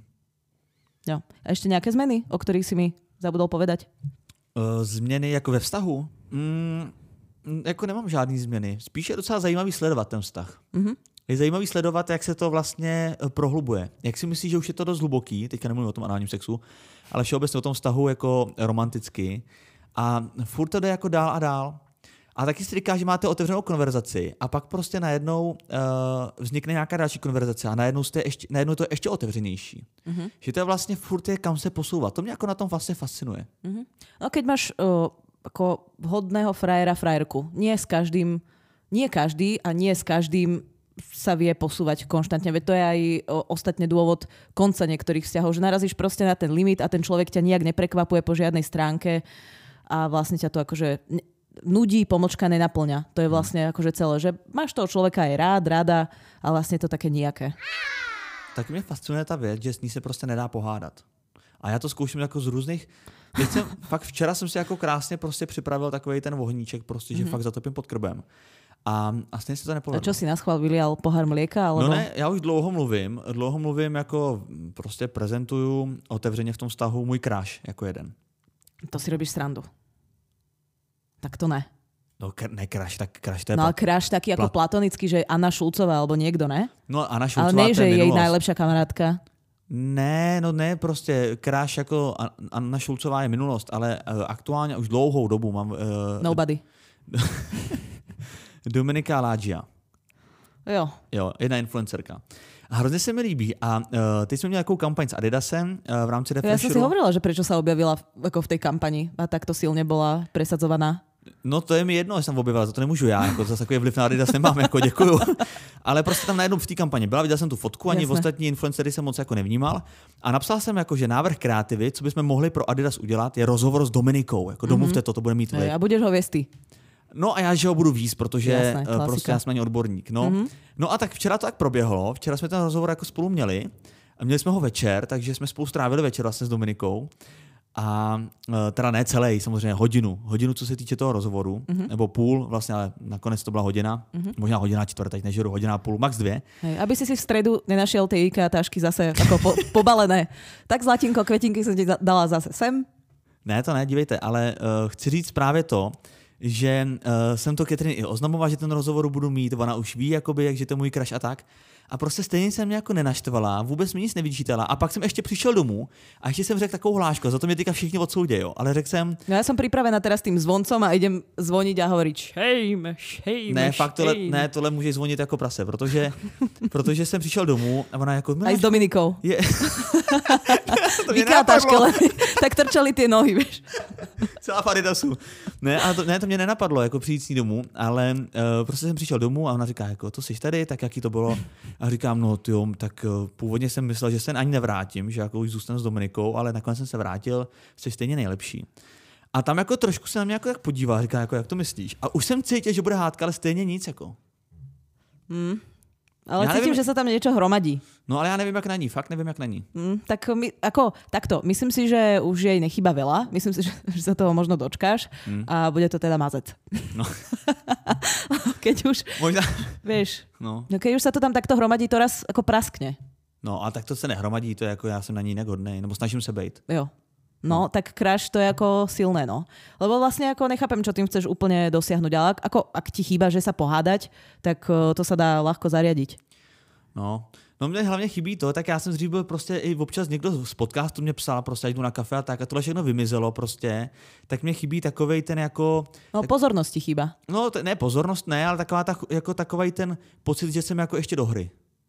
Jo. A ešte nejaké zmeny, o ktorých si mi zabudol povedať? Uh, změny jako ve vztahu? Mm, jako nemám žádný změny. Spíš je docela zajímavý sledovat ten vztah. Mm-hmm. Je zajímavý sledovat, jak se to vlastně prohlubuje. Jak si myslíš, že už je to dost hluboký, teďka nemluvím o tom análním sexu, ale všeobecně o tom vztahu jako romanticky. A furt to jde jako dál a dál. A taky si říká, že máte otevřenou konverzaci a pak prostě najednou uh, vznikne nějaká další konverzace a najednou, jste ještě, najednou to je ještě otevřenější. Mm-hmm. Že to je vlastně furt je, kam se posouvat. To mě jako na tom vlastně fascinuje. Mm-hmm. No keď máš uh, ako vhodného frajera, frajerku, nie s každým, nie každý a nie s každým sa vie posúvať konštantne. Veď to je aj o, ostatne dôvod konca niektorých vzťahov, že narazíš proste na ten limit a ten človek ťa nijak neprekvapuje po žiadnej stránke a vlastne ťa to akože nudí, pomočka nenaplňa. To je vlastne akože celé, že máš toho človeka aj rád, rada a vlastne to také nijaké. Tak mě fascinuje ta věc, že s ní se prostě nedá pohádat. A já to zkouším jako z různých... Teď jsem, fakt včera jsem si jako krásně prostě připravil takovej ten ohníček, prostě, že mm-hmm. fakt zatopím pod krbem. A, a stejně se to nepovedlo. A čo si naschvál vylial pohár mlieka? Alebo... No ne, já už dlouho mluvím, dlouho mluvím jako prostě prezentuju otevřeně v tom vztahu můj crush jako jeden. To si robíš srandu. Tak to ne. No kr- ne crush, tak crush to je... No ale crush taký ako Plat... platonický, že Anna Šulcová alebo niekto, ne? No Anna Šulcová, ale nie, že je jej najlepšia kamarátka. Ne, no ne, prostě crush jako Anna Šulcová je minulost, ale uh, aktuálně už dlouhou dobu mám... Uh, Nobody. Dominika Laggia. Jo. Jo, jedna influencerka. A hrozně se mi líbí. A uh, teď jsme měli nějakou kampaň s Adidasem uh, v rámci Refresheru. Ja som si hovorila, že prečo sa objavila v, ako v tej kampani a takto silne bola presadzovaná. No to je mi jedno, že jsem objevila, za to nemůžu já, jako zase takový vliv na Adidas nemám, jako děkuju. Ale prostě tam najednou v té kampani byla, viděl jsem tu fotku, ani v ostatní influencery jsem moc jako nevnímal. A napsal jsem jako, že návrh kreativy, co bychom mohli pro Adidas udělat, je rozhovor s Dominikou. Jako domluvte to, to bude mít vliv. A budeš ho věst ty. No a já, že ho budu víc, protože jasné, prostě já jsem na ně odborník. No. Mm-hmm. no a tak včera to tak proběhlo, včera jsme ten rozhovor jako spolu měli. Měli jsme ho večer, takže jsme spolu strávili večer vlastně s Dominikou. A teda ne celý, samozřejmě hodinu. Hodinu, co se týče toho rozhovoru, mm-hmm. nebo půl, vlastně, ale nakonec to byla hodina. Mm-hmm. Možná hodina čtvrt, teď nežeru, hodina a půl, max dvě. Hej, aby si si v stredu nenašiel tie IKEA tašky zase ako po, pobalené. Tak zlatinko, kvetinky som ti dala zase sem. Ne, to ne, dívejte, ale uh, chci říct právě to, že uh, jsem to Catherine i oznamoval, že ten rozhovor budu mít, ona už ví, jakoby, jak, že to je můj crush a tak. A prostě stejně jsem mě jako nenaštvala, vůbec mi nic nevyčítala. A pak jsem ještě přišel domů a ještě jsem řekl takovou hlášku, za to mě teďka všichni odsoudí, jo. Ale řekl jsem... No já jsem připravená teraz tým zvoncom a idem zvoniť a hovoriť shame, shame, Ne, fakt tohle, ne, tohle může zvonit jako prase, protože, protože jsem přišel domů a ona jako... Aj s Dominikou. Je... Vykátaške, tak trčali ty nohy, víš. Celá v Adidasu. Ne, a to, ne, to mě nenapadlo, jako přijít s ní domů, ale uh, prostě jsem přišel domů a ona říká, jako to jsi tady, tak jaký to bylo? A říkám, no tyjo, tak uh, původně jsem myslel, že se ani nevrátím, že jako už zůstanu s Dominikou, ale nakonec jsem se vrátil, jsi stejně nejlepší. A tam jako trošku se na mě jako tak podíval, říká, jako jak to myslíš? A už jsem cítil, že bude hádka, ale stejně nic, jako. Hmm. Ale já cítím, nevím, že se tam něco hromadí. No ale ja neviem, jak na ní, fakt neviem, jak na ní. Mm, tak my, ako, takto, myslím si, že už jej nechýba veľa, myslím si, že, že sa toho možno dočkáš mm. a bude to teda mazec. No. Keď už, Možná... vieš, no. keď už sa to tam takto hromadí, to raz ako praskne. No a tak to se nehromadí, to je jako já jsem na ní negodnej, nebo snažím se bejt. Jo. No, tak crush to je ako silné, no. Lebo vlastne ako nechápem, čo tým chceš úplne dosiahnuť, ale ako, ak ti chýba, že sa pohádať, tak to sa dá ľahko zariadiť. No, no mě hlavně chybí to, tak já jsem dřív byl prostě i občas někdo z podcastu mě psal prostě, jdu na kafe a tak a tohle všechno vymizelo prostě, tak mě chybí takovej ten jako... No tak, pozornosti chýba. No t- ne, pozornost ne, ale taková ta, jako takovej ten pocit, že jsem jako ještě do hry.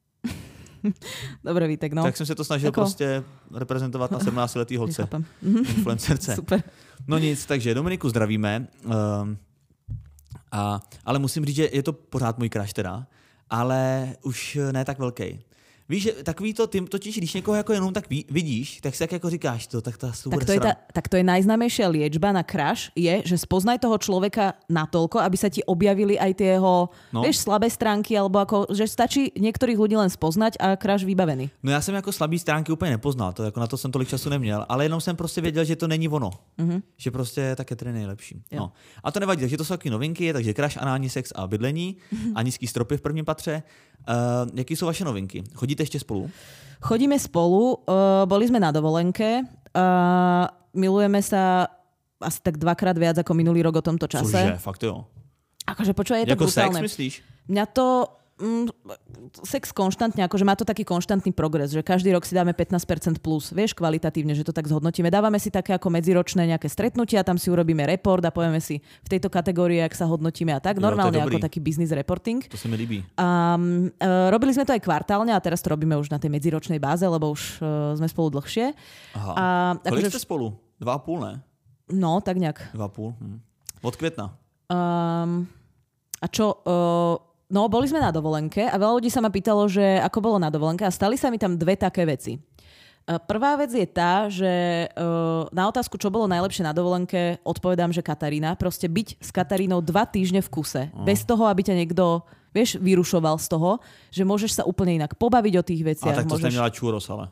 Dobre, Vítek, no. Tak jsem se to snažil Ako... prostě reprezentovat na sedmnáctiletý holce. Nechápem. Influencerce. Super. No nic, takže Dominiku zdravíme. Um, a, ale musím říct, že je to pořád můj crush teda, ale už ne tak velký. Víš, že takový to, ty totiž, když někoho jako jenom tak ví, vidíš, tak si jak jako říkáš to, tak, ta tak, to je ta, tak to je najznámejšia liečba na crush, je, že spoznaj toho človeka natoľko, aby sa ti objavili aj tie jeho, no. vieš, slabé stránky, alebo ako, že stačí niektorých ľudí len spoznať a crush vybavený. No já jsem jako slabý stránky úplně nepoznal, to, jako na to jsem tolik času neměl, ale jenom jsem prostě věděl, že to není ono. Mm-hmm. Že prostě tak je to nejlepší. No. A to nevadí, takže to jsou taky novinky, takže crush, anální sex a bydlení mm-hmm. a nízký stropy v prvním patře. Uh, jaký jsou vaše novinky? Chodíte ešte spolu? Chodíme spolu, uh, boli sme na dovolenke, uh, milujeme sa asi tak dvakrát viac ako minulý rok o tomto čase. Cože, fakt jo. Akože počúvaj, je to jako brutálne. Sex myslíš? Mňa to... Mm, sex konštantne, akože má to taký konštantný progres, že každý rok si dáme pätnásť percent plus, vieš, kvalitatívne, že to tak zhodnotíme. Dávame si také ako medziročné nejaké stretnutia, tam si urobíme report a povieme si v tejto kategórii, ak sa hodnotíme a tak. Normálne jo, ako taký business reporting. To sa mi líbí. A, uh, robili sme to aj kvartálne a teraz to robíme už na tej medziročnej báze, lebo už uh, sme spolu dlhšie. Aha. A, kolik akože... ste spolu? Dva a půl, ne? No, tak nejak. Dva a půl. Hm. Od května. Um, a čo... Uh, No, boli sme na dovolenke a veľa ľudí sa ma pýtalo, že ako bolo na dovolenke a stali sa mi tam dve také veci. Prvá vec je tá, že na otázku, čo bolo najlepšie na dovolenke, odpovedám, že Katarína. Proste byť s Katarínou dva týždne v kuse. Mm. Bez toho, aby ťa niekto, vieš, vyrušoval z toho, že môžeš sa úplne inak pobaviť o tých veciach. A tak to môžeš... ste měla čúros, ale...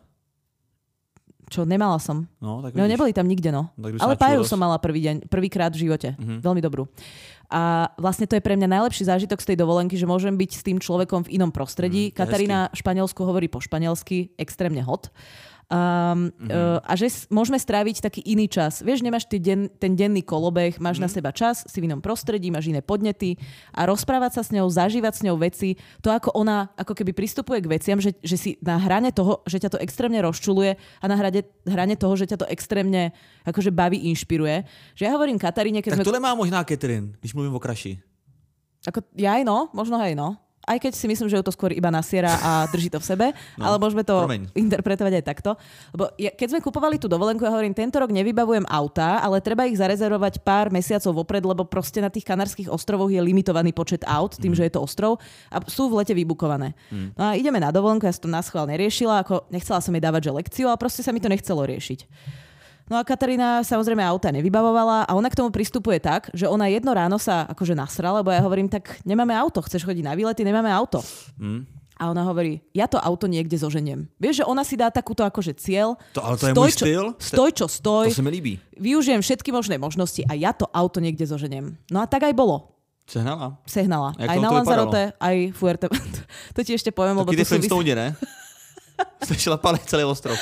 Čo, nemala som. No, tak no neboli tam nikde, no. Ale páju som mala prvý deň, prvýkrát v živote. Mm-hmm. Veľmi dobrú. A vlastne to je pre mňa najlepší zážitok z tej dovolenky, že môžem byť s tým človekom v inom prostredí. Mm, Katarína v Španielsku hovorí po španielsky, extrémne hot. Um, mm-hmm. uh, a že môžeme stráviť taký iný čas. Vieš, nemáš ty den, ten denný kolobeh, máš mm. na seba čas, si v inom prostredí, máš iné podnety a rozprávať sa s ňou, zažívať s ňou veci, to ako ona ako keby pristupuje k veciam, že, že si na hrane toho, že ťa to extrémne rozčuluje a na hrane, hrane toho, že ťa to extrémne akože baví, inšpiruje. Že ja hovorím Kataríne, keď tak sme... tohle má možná Catherine, když mluvím o kraši. Ako, ja aj no, možno aj no. Aj keď si myslím, že ju to skôr iba nasiera a drží to v sebe, no, ale môžeme to promeň. interpretovať aj takto. Lebo ja, keď sme kupovali tú dovolenku, ja hovorím, tento rok nevybavujem autá, ale treba ich zarezervovať pár mesiacov vopred, lebo proste na tých Kanárskych ostrovoch je limitovaný počet aut, tým, mm. že je to ostrov a sú v lete vybukované. Mm. No a ideme na dovolenku, ja som to naschvál neriešila, ako nechcela som jej dávať že lekciu, ale proste sa mi to nechcelo riešiť. No a Katarína samozrejme auta nevybavovala a ona k tomu pristupuje tak, že ona jedno ráno sa akože nasrala, lebo ja hovorím, tak nemáme auto, chceš chodiť na výlety, nemáme auto. Mm. A ona hovorí, ja to auto niekde zoženiem. Vieš, že ona si dá takúto akože cieľ. To, ale to je stoj, môj štýl. Čo, stoj, čo stoj. To sa mi líbí. Využijem všetky možné možnosti a ja to auto niekde zoženiem. No a tak aj bolo. Sehnala? Sehnala. Aj na Lanzarote, aj Fuerteventura. To ti ešte poviem, lebo Taký to súvisí... Flintstone, ne? Ste šlapali celý ostrov.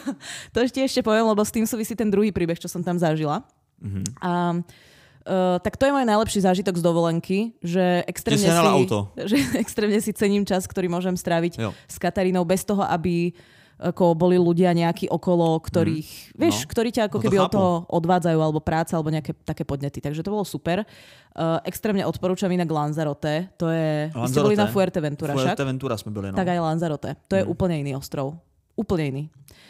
To ešte ešte poviem, lebo s tým súvisí ten druhý príbeh, čo som tam zažila. Mm-hmm. A, uh, tak to je môj najlepší zážitok z dovolenky, že extrémne, si, auto. že extrémne si cením čas, ktorý môžem stráviť jo. s Katarínou bez toho, aby ako boli ľudia nejakí okolo, ktorých, mm. vieš, no. ktorí ťa ako no to keby chápu. Od toho odvádzajú, alebo práca, alebo nejaké také podnety. Takže to bolo super. Uh, extrémne odporúčam inak Lanzarote. To je... Vy ste boli na Fuerteventura však? Fuerteventura sme byli, no. Tak aj Lanzarote. To je mm. úplne iný ostrov. Úplne iný.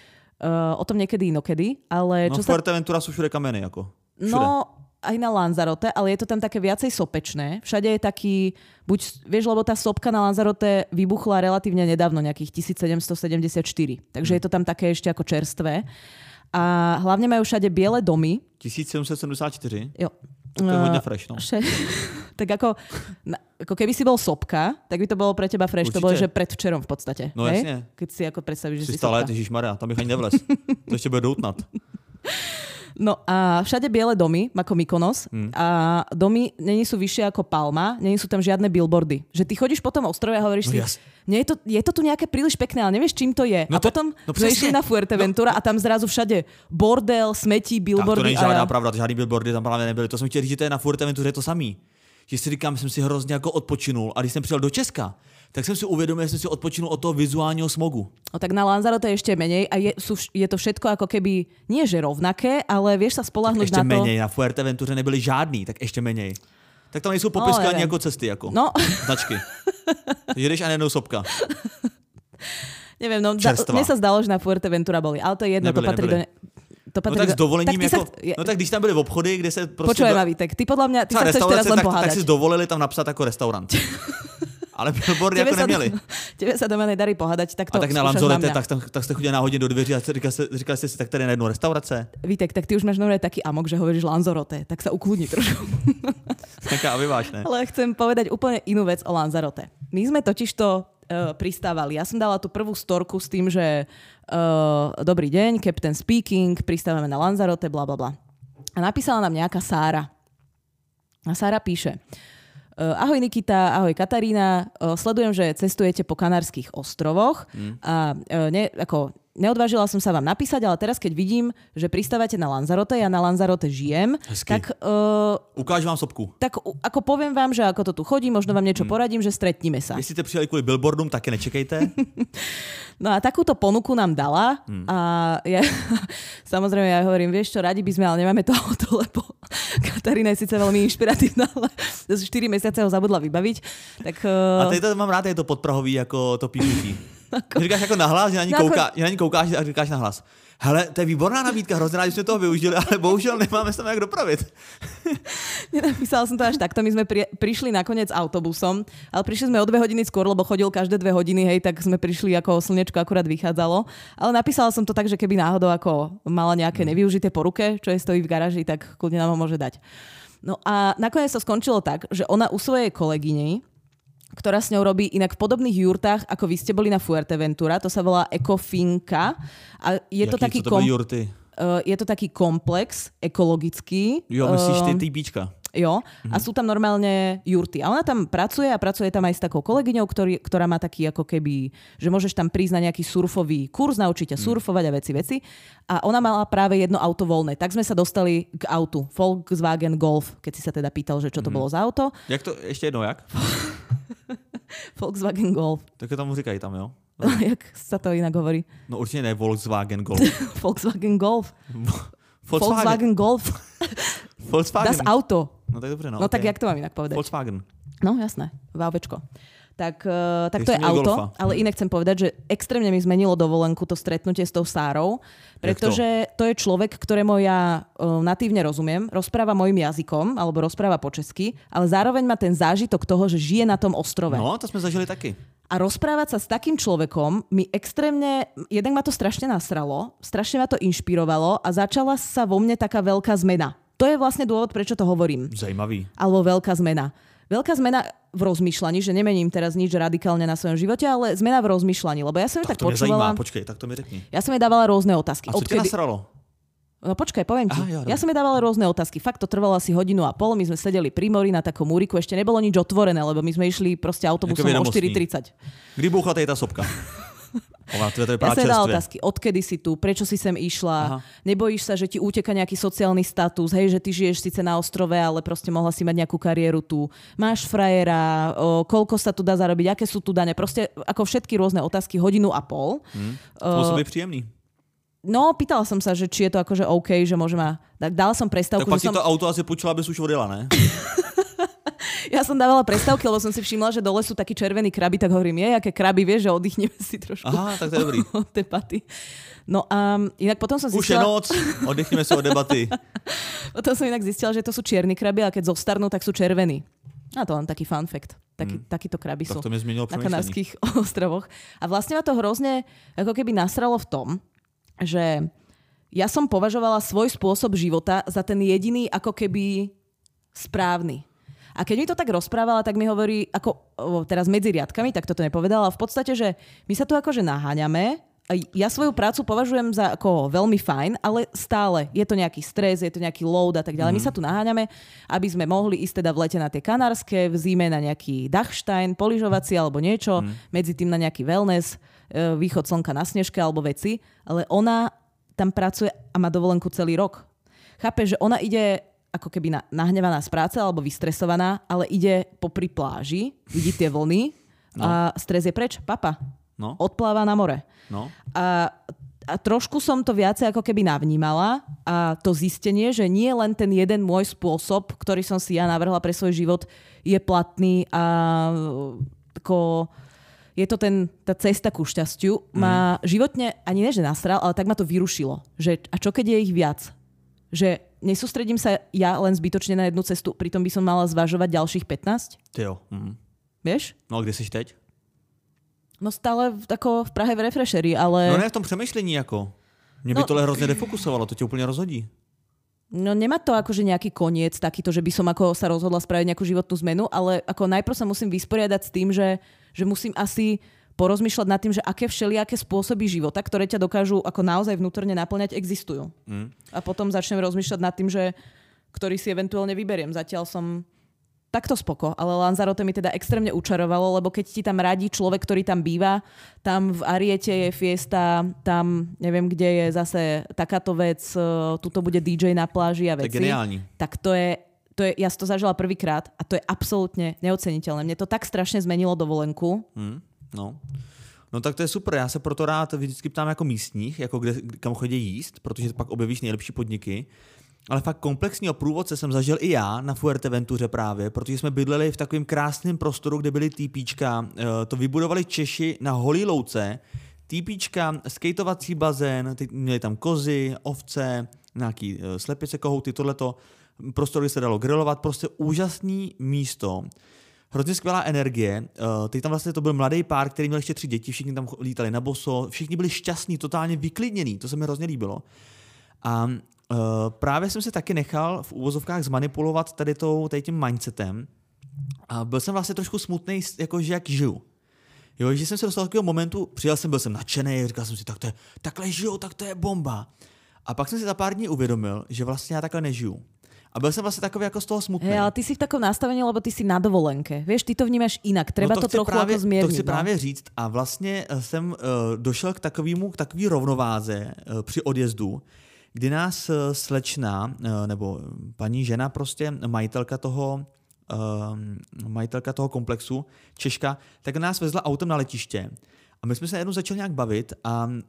Uh, o tom niekedy inokedy, ale... No čo Fuerteventura sa... sú všude kameny, ako. Všude. No... aj na Lanzarote, ale je to tam také viacej sopečné. Všade je taký, buď, vieš, lebo tá sopka na Lanzarote vybuchla relatívne nedávno, nejakých tisícsedemstosedemdesiatštyri. Takže hmm. je to tam také ešte ako čerstvé. A hlavne majú všade biele domy. tisícsedemstosedemdesiatštyri? Jo. To je hodne fresh, no. Vše... Tak ako, ako keby si bol sopka, tak by to bolo pre teba fresh. Určite. To bolo, že predvčerom v podstate. No hej? jasne. Keď si ako predstavíš, že si, si stále, sopka. Ježišmaria, tam bych ani nevlez. To ešte bude doutnat. No a všade biele domy, ako Mykonos. Hmm. A domy není sú vyššie ako Palma, není sú tam žiadne billboardy. Že ty chodíš po tom ostrove a hovoríš no, si, jas. nie je, to, je to tu nejaké príliš pekné, ale nevieš, čím to je. No a to, potom no sme išli na Fuerteventura no. a tam zrazu všade bordel, smetí, billboardy. Tak to není žádná a... pravda, žádný billboardy tam právě nebyly. To jsem chtěl říct, že to je na Fuerteventuře je to samý. Že si říkám, jsem si hrozně jako odpočinul a když jsem přijel do Česka, tak jsem si uvědomil, že jsem si odpočinul od toho vizuálního smogu. No tak na Lanzarote je ešte menej a je, sú, je to všetko ako keby, nie že rovnaké, ale vieš sa spoľahnúť na to. Ešte menej, na Fuerteventuře nebyli žádný, tak ešte menej. Tak tam nejsou popisky ani jako cesty, jako no. značky. Jedeš a nejednou sopka. Neviem, no da, mne sa zdalo, že na Fuerteventura boli, ale to je jedno, nebyli, to patrí nebyli. do... To no tak s dovolením, tak jako, sa... no tak když tam byli v obchody, kde se prostě... Počúvaj ma, Vítek, ty podľa mňa, ty sa chceš teraz len tak, pohádať. Tak si dovolili tam napsat jako restaurant. Ale billboardy jako neměli. Tebe sa doma nedarí pohádať, tak to a tak na Lanzarote, tak, tak jste chodili náhodně do dveří a říkali jste, říkali jste si, tak tady je najednou restaurace. Vítek, tak ty už máš nové taký amok, že hovoríš Lanzarote, tak sa ukludni trošku. Taká vyvážne. Ale chcem povedať úplne inú vec o Lanzarote. My sme totižto uh, pristávali. Ja som dala tú prvú storku s tým, že uh, dobrý deň, Captain speaking, pristávame na Lanzarote, bla bla bla. A napísala nám nejaká Sára. A Sára píše: Uh, ahoj Nikita, ahoj Katarína, uh, sledujem, že cestujete po Kanárskych ostrovoch mm. a uh, ne, ako, neodvážila som sa vám napísať, ale teraz keď vidím, že pristávate na Lanzarote, ja na Lanzarote žijem, Hezky. tak... Uh, Ukáž vám sopku. Tak uh, ako poviem vám, že ako to tu chodí, možno vám niečo mm. poradím, že stretníme sa. Jestli ste přijeli kvôli billboardom, také nečekejte. No a takúto ponuku nám dala mm. a ja, samozrejme ja hovorím, vieš čo, radi by sme, ale nemáme to auto, lebo Katarína je síce veľmi inšpiratívna, ale za štyri mesiace ho zabudla vybaviť. Tak, uh... A tady to mám rád, je to podprahový jako to píšutí. Říkáš jako nahlas, že na ní, no, kouká, že na ní koukáš a říkáš nahlas. Hele, to je výborná nabídka, hrozně rádi jsme toho využili, ale bohužel nemáme sa tam jak dopravit. Nenapísala som to až takto, my sme pri, prišli nakoniec autobusom, ale prišli sme o dve hodiny skôr, lebo chodil každé dve hodiny, hej, tak sme prišli ako slnečko akurát vychádzalo. Ale napísala som to tak, že keby náhodou ako mala nejaké nevyužité po ruke, čo je stojí v garáži, tak kľudne nám ho môže dať. No a nakoniec to skončilo tak, že ona u svojej kolegyni, ktorá s ňou robí inak v podobných jurtách, ako vy ste boli na Fuerteventura, to sa volá Ecofinka. A je Jaký, to taký co to byly jurty? Uh, je to taký komplex ekologický. Jo, myslíš ty uh, týpíčka. Jo, mm-hmm. a sú tam normálne jurty. A ona tam pracuje a pracuje tam aj s takou kolegyňou, ktorý, ktorá má taký ako keby, že môžeš tam prísť na nejaký surfový kurz, naučiť ťa mm. surfovať a veci, veci. A ona mala práve jedno auto voľné. Tak sme sa dostali k autu. Volkswagen Golf, keď si sa teda pýtal, že čo to mm-hmm. bolo za auto. Jak to, ešte jedno, jak? Volkswagen Golf. Tak tomu říkají tam, jo? Jak sa to inak hovorí? No určite ne Volkswagen Golf. Volkswagen Golf. Volkswagen, Volkswagen Golf. Volkswagen. Das Auto. No tak dobře, no. No okay. tak jak to mám inak povedať? Volkswagen. No jasné, VAVčko. Tak, uh, tak to je auto, golfa. ale inak chcem povedať, že extrémne mi zmenilo dovolenku to stretnutie s tou Sárou, pretože to? to je človek, ktorému ja uh, natívne rozumiem, rozpráva mojim jazykom, alebo rozpráva po česky, ale zároveň má ten zážitok toho, že žije na tom ostrove. No, to sme zažili taky. A rozprávať sa s takým človekom mi extrémne, jednak ma to strašne nasralo, strašne ma to inšpirovalo a začala sa vo mne taká veľká zmena. To je vlastne dôvod, prečo to hovorím. Zajímavý. Alebo veľká zmena. Veľká zmena v rozmýšľaní, že nemením teraz nič radikálne na svojom živote, ale zmena v rozmýšľaní, lebo ja som ju tak, tak to počúvala. Zajímá. Počkej, tak to mi řekni. Ja som jej dávala rôzne otázky. A co Odkedy... ťa nasralo? No počkaj, poviem ti. Aha, ja, ja som jej dávala rôzne otázky. Fakt to trvalo asi hodinu a pol. My sme sedeli pri mori na takom múriku. Ešte nebolo nič otvorené, lebo my sme išli proste autobusom o štyri tridsať. Kdy búchla tej tá sopka? Ova, to je ja som jej dala otázky. Odkedy si tu? Prečo si sem išla? Aha. Nebojíš sa, že ti úteka nejaký sociálny status? Hej, že ty žiješ síce na ostrove, ale proste mohla si mať nejakú kariéru tu. Máš frajera? O, koľko sa tu dá zarobiť? Aké sú tu dane? Proste ako všetky rôzne otázky, hodinu a pol. Hmm. To musí byť príjemný. No, pýtala som sa, že či je to akože OK, že môžem a... Tak dala som prestávku. Tak pak že si som... to auto asi počula, aby si už odjela, ne? Ja som dávala prestávky, lebo som si všimla, že dole sú takí červení kraby, tak hovorím, je, aké kraby, vieš, že oddychneme si trošku. Aha, tak to je dobrý. Od debaty. No a inak potom som zistila... Už je noc, oddychneme sa od debaty. Potom som inak zistila, že to sú čierni kraby, a keď zostarnú, tak sú červení. A to len taký fun fact. Taký, hmm. Takíto kraby tak sú na Kanárskych ostrovoch. A vlastne ma to hrozne ako keby nasralo v tom, že ja som považovala svoj spôsob života za ten jediný ako keby správny. A keď mi to tak rozprávala, tak mi hovorí, ako teraz medzi riadkami, tak toto nepovedala, v podstate, že my sa tu akože naháňame. Ja svoju prácu považujem za ako veľmi fajn, ale stále je to nejaký stres, je to nejaký load a tak ďalej. Mm. My sa tu naháňame, aby sme mohli ísť teda v lete na tie Kanárske, v zime na nejaký Dachstein, poližovací alebo niečo, mm. medzi tým na nejaký wellness, východ slnka na snežke alebo veci. Ale ona tam pracuje a má dovolenku celý rok. Chápe, že ona ide ako keby nahnevaná z práce alebo vystresovaná, ale ide popri pláži, vidí tie vlny no. a stres je preč. Papa. No. Odpláva na more. No. A, a trošku som to viacej ako keby navnímala a to zistenie, že nie len ten jeden môj spôsob, ktorý som si ja navrhla pre svoj život, je platný a ako, je to ten, tá cesta ku šťastiu. Mm. Ma životne, ani ne, že nasral, ale tak ma to vyrušilo. Že, a čo keď je ich viac? Že nesústredím sa ja len zbytočne na jednu cestu, pritom by som mala zvažovať ďalších pätnásť? Ty jo. Mm. Vieš? No a kde jsi teď? No stále v, tako, v Prahe v Refresheri, ale... No ne v tom přemýšlení jako. Mě by no, tohle hrozně defokusovalo, to tě úplně rozhodí. No nemá to akože nejaký koniec takýto, že by som ako sa rozhodla spraviť nejakú životnú zmenu, ale ako najprv sa musím vysporiadať s tým, že, že musím asi porozmýšľať nad tým, že aké všelijaké spôsoby života, ktoré ťa dokážu ako naozaj vnútorne naplňať, existujú. Mm. A potom začnem rozmýšľať nad tým, že ktorý si eventuálne vyberiem. Zatiaľ som... Takto spoko, ale Lanzarote mi teda extrémne učarovalo, lebo keď ti tam radí človek, ktorý tam býva, tam v Ariete je fiesta, tam neviem, kde je zase takáto vec, tuto bude dý džej na pláži a veci. To je geniálne. Tak to je, to je, ja som to zažila prvýkrát a to je absolútne neoceniteľné. Mne to tak strašne zmenilo dovolenku. Hmm, no. No tak to je super, já se proto rád vždycky ptám jako místních, jako kde, kam chodí jíst, protože pak objevíš nejlepší podniky. Ale fakt komplexního průvodce jsem zažil i já na Fuerteventuře právě, protože jsme bydleli v takovém krásném prostoru, kde byly týpíčka. To vybudovali Češi na holý louce. Týpíčka, skejtovací bazén, měli tam kozy, ovce, nějaký slepice, kohouty, tohleto. Prostor, kde se dalo grilovat, prostě úžasný místo. Hrozně skvělá energie. Teď tam vlastně to byl mladý pár, který měl ještě tři děti, všichni tam lítali na boso, všichni byli šťastní, totálně vyklidnění, to se mi hrozně líbilo. A Uh, právě jsem se taky nechal v úvozovkách zmanipulovat tady, tou, tady tím mindsetem a byl jsem vlastně trošku smutný, jako že jak žiju. Jo, že jsem se dostal do takového momentu, přijel jsem, byl jsem nadšený, říkal jsem si, tak to je, takhle žiju, tak to je bomba. A pak jsem si za pár dní uvědomil, že vlastně já takhle nežiju. A byl jsem vlastně takový jako z toho smutný. Hey, ale ty si v takom nastavení, lebo ty si na dovolenke. Vieš, ty to vnímáš inak. Treba no to, to trochu právě, jako zmierniť. To chci no? právě říct. A vlastně jsem uh, došel k takovému, k takové rovnováze uh, při odjezdu, kdy nás slečna, nebo paní žena, prostě majitelka toho, uh, majitelka toho komplexu, Češka, tak nás vezla autem na letiště. A my jsme se jednou začali nějak bavit a uh,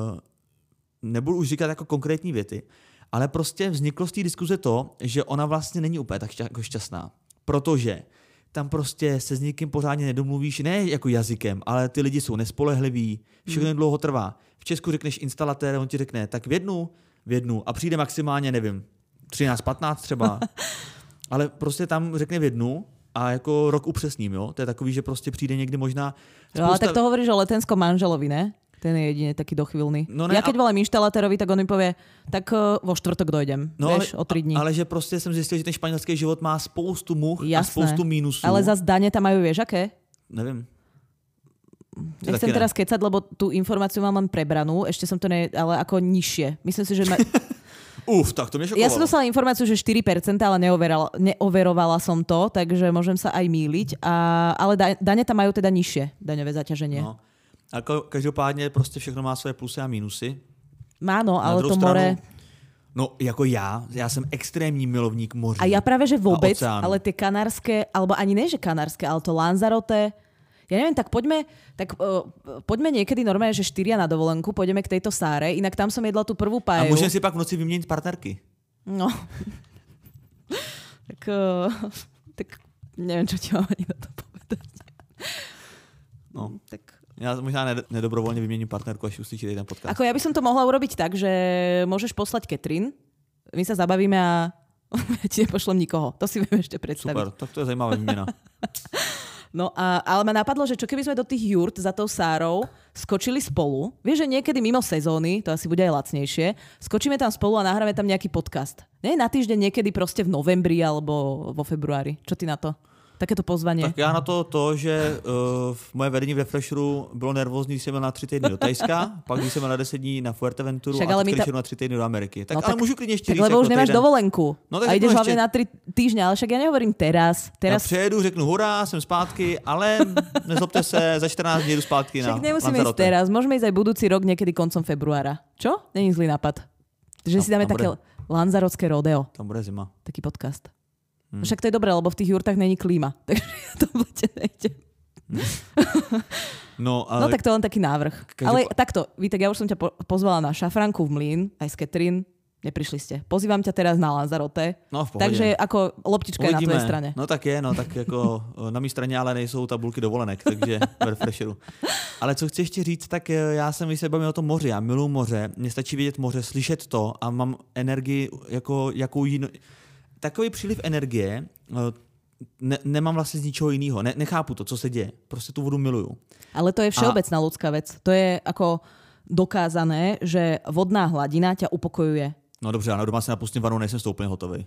nebudu už říkat jako konkrétní věty, ale prostě vzniklo z té diskuze to, že ona vlastně není úplně tak šťa- jako šťastná. Protože tam prostě se s někým pořádně nedomluvíš, ne jako jazykem, ale ty lidi jsou nespolehliví, všechno hmm. dlouho trvá. V Česku řekneš instalatér, on ti řekne, tak v jednu, v jednu a přijde maximálně, nevím, třináct patnáct třeba, ale prostě tam řekne v jednu a jako rok upřesním, jo? To je takový, že prostě přijde někdy možná... Spousta... No ale tak to hovoríš o letenskom manželovi, ne? Ten je jedine taký dochvíľný. No ne, ja keď volám inštalatérovi, tak on mi povie, tak vo štvrtok dojdem, no vieš, ale, o tri dní. Ale že prostě jsem zjistil, že ten španělský život má spoustu much a spoustu mínusů. Ale zas dane tam majú, vieš, aké? Nevím. Nechcem ne. teraz kecať, lebo tú informáciu mám len prebranú, ešte som to ne, ale ako nižšie. Myslím si, že... Ma... Uf, tak to mi šokovalo. Ja som dostala informáciu, že štyri percentá, ale neoverovala, neoverovala som to, takže môžem sa aj mýliť. A, ale da, dane tam majú teda nižšie daňové zaťaženie. No. A každopádně prostě všechno má své plusy a mínusy. Má no, ale to stranu, more... No jako já, já jsem extrémní milovník moří. A ja práve, že vôbec, ale tie kanárske, alebo ani ne, že kanárske, ale to Lanzarote... Ja neviem, tak poďme, tak, uh, poďme niekedy normálne, že štyria na dovolenku, pôjdeme k tejto Sáre, inak tam som jedla tú prvú paeju. A môžeme si pak v noci vymieniť partnerky. No. tak, uh, tak neviem, čo ti mám ani na to povedať. No, tak... Ja možná nedobrovoľne vymením partnerku, až uslyšíte ten podcast. Ako ja by som to mohla urobiť tak, že môžeš poslať Katrin, my sa zabavíme a ja ti nepošlem nikoho. To si viem ešte predstaviť. Super, tak to je zajímavá výmena. No a, ale ma napadlo, že čo keby sme do tých jurt za tou Sárou skočili spolu. Vieš, že niekedy mimo sezóny, to asi bude aj lacnejšie, skočíme tam spolu a nahráme tam nejaký podcast. Nie na týždeň niekedy proste v novembri alebo vo februári. Čo ty na to? Takéto pozvanie. Tak já na to to, že uh, moje vedení v Refresheru bylo nervózní, když jsem byl na tři týdny do Tajska, pak když jsem byl na deset dní na Fuerteventuru Však, a ale teď ta... ta... na tři týdny do Ameriky. Tak, no, ale tak, můžu klidně ještě tak říct. lebo jako už nemáš týden. dovolenku. No, a ideš hlavne ještě... na tri týždne, ale však ja nehovorím teraz. teraz... Já přijedu, řeknu hurá, jsem zpátky, ale nezlobte se, za čtrnáct dní jdu zpátky však na Lanzarote. Však nemusíme ísť teraz, môžeme ísť aj budúci rok niekedy koncom februára. Čo? Není zlý nápad. Že si dáme také bude... lanzarotské rodeo. Tam bude zima. Taký podcast. Hmm. Však to je dobré, lebo v tých jurtách není klíma. Takže ja to v lete nejdem. No, ale... no tak to je len taký návrh. Každop... Ale takto, Vítek, ja už som ťa po- pozvala na Šafranku v Mlín, aj s Katrin. Neprišli ste. Pozývam ťa teraz na Lanzarote. No, v pohodě. Takže ako loptička je na tvojej strane. No tak je, no tak jako na mý straně ale nejsou tabulky dovolenek, takže v Refresheru. Ale co chci ještě říct, tak já jsem, když se bavím o tom moři, já miluji moře, mně stačí vidět moře, slyšet to a mám energii jako jakou jinou... Takový příliv energie ne, nemám vlastně z ničeho jiného. Ne, nechápu to, co se děje. Prostě tu vodu miluju. Ale to je všeobecná a... ľudská vec. To je ako dokázané, že vodná hladina ťa upokojuje. No dobře, ale doma se napustím vanou, nejsem s tou úplně hotovej.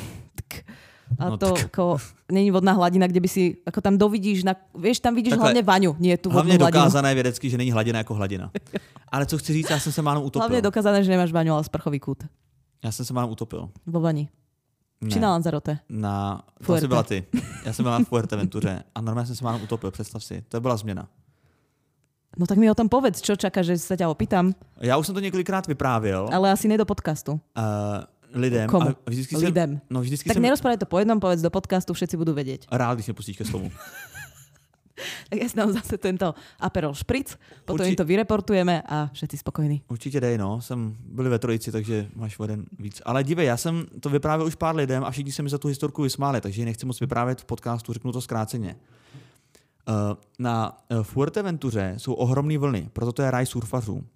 A no, to tak... ako, není vodná hladina, kde by si, ako tam dovidíš, na, vieš, tam vidíš takhle, hlavne vaňu, nie tú vodnú hlavne hladinu. Hlavne dokázané vědecky, že není hladina jako hladina. Ale co chci říct, já jsem se málem utopil. Hlavne dokázané, že nemáš vaňu, ale sprchový kút. Já jsem se málem utopil. Vo vani. Ne. Či na Lanzarote? Na... To asi byla ty. Já jsem byla na Fuerteventuře a normálně jsem se málem utopil, představ si. To byla změna. No tak mi o tom povedz, čo čakáš, že sa ťa opýtam. Já už jsem to několikrát vyprávěl. Ale asi ne do podcastu. Uh, lidem. Komu? A vždycky lidem. Jsem, no vždycky tak jsem... nerozprávať to po jednom, povedz do podcastu, všetci budú vedieť. Rád, když mě pustíš ke slovu. Tak ja si dám zase tento Aperol Spritz, potom Urči... im to vyreportujeme a všetci spokojní. Určitě dej, no. Jsem byli ve trojici, takže máš jeden víc. Ale dívej, já jsem to vyprávěl už pár lidem a všichni se mi za tu historku vysmáli, takže ji nechci moc vyprávět v podcastu, řeknu to zkráceně. Uh, na Fuerteventuře jsou ohromné vlny, proto to je ráj surfařů.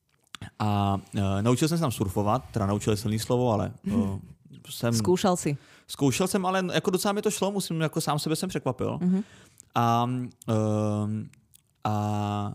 A uh, naučil jsem se tam surfovat, teda naučil silný slovo, ale uh, jsem... Zkoušel si. Zkoušel jsem, ale jako docela mi to šlo, musím, jako sám sebe jsem překvapil. Mm-hmm. A, uh, a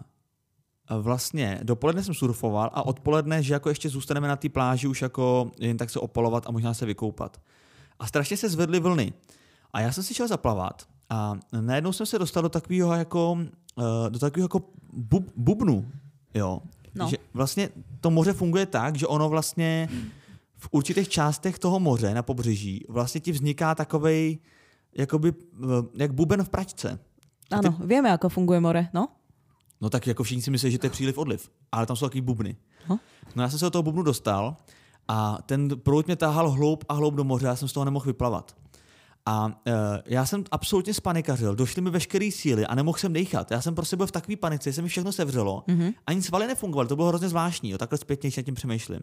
vlastně dopoledne jsem surfoval a odpoledne, že jako ještě zůstaneme na té pláži už jako jen tak se opalovat a možná se vykoupat. A strašně se zvedly vlny. A já jsem si šel zaplavat a najednou jsem se dostal do takového jako, uh, do takového jako bub, bubnu, jo. No. Že vlastně to moře funguje tak, že ono vlastně v určitých částech toho moře na pobřeží vlastně ti vzniká takovej jakoby, jak buben v pračce. Ano, ty... vieme, ako funguje more, no? No tak jako všichni si myslí, že to je příliv odliv, ale tam jsou takový bubny. Huh? No já jsem se do toho bubnu dostal a ten proud mě táhal hloub a hloub do moře, já jsem z toho nemohl vyplavat. A uh, já jsem absolutně spanikařil, došly mi veškeré síly a nemohl jsem dejchat. Já jsem prostě byl v takové panice, se mi všechno sevřelo, mm-hmm. ani svaly nefungovaly, to bylo hrozně zvláštní, jo, takhle zpětně, když nad tím přemýšlím.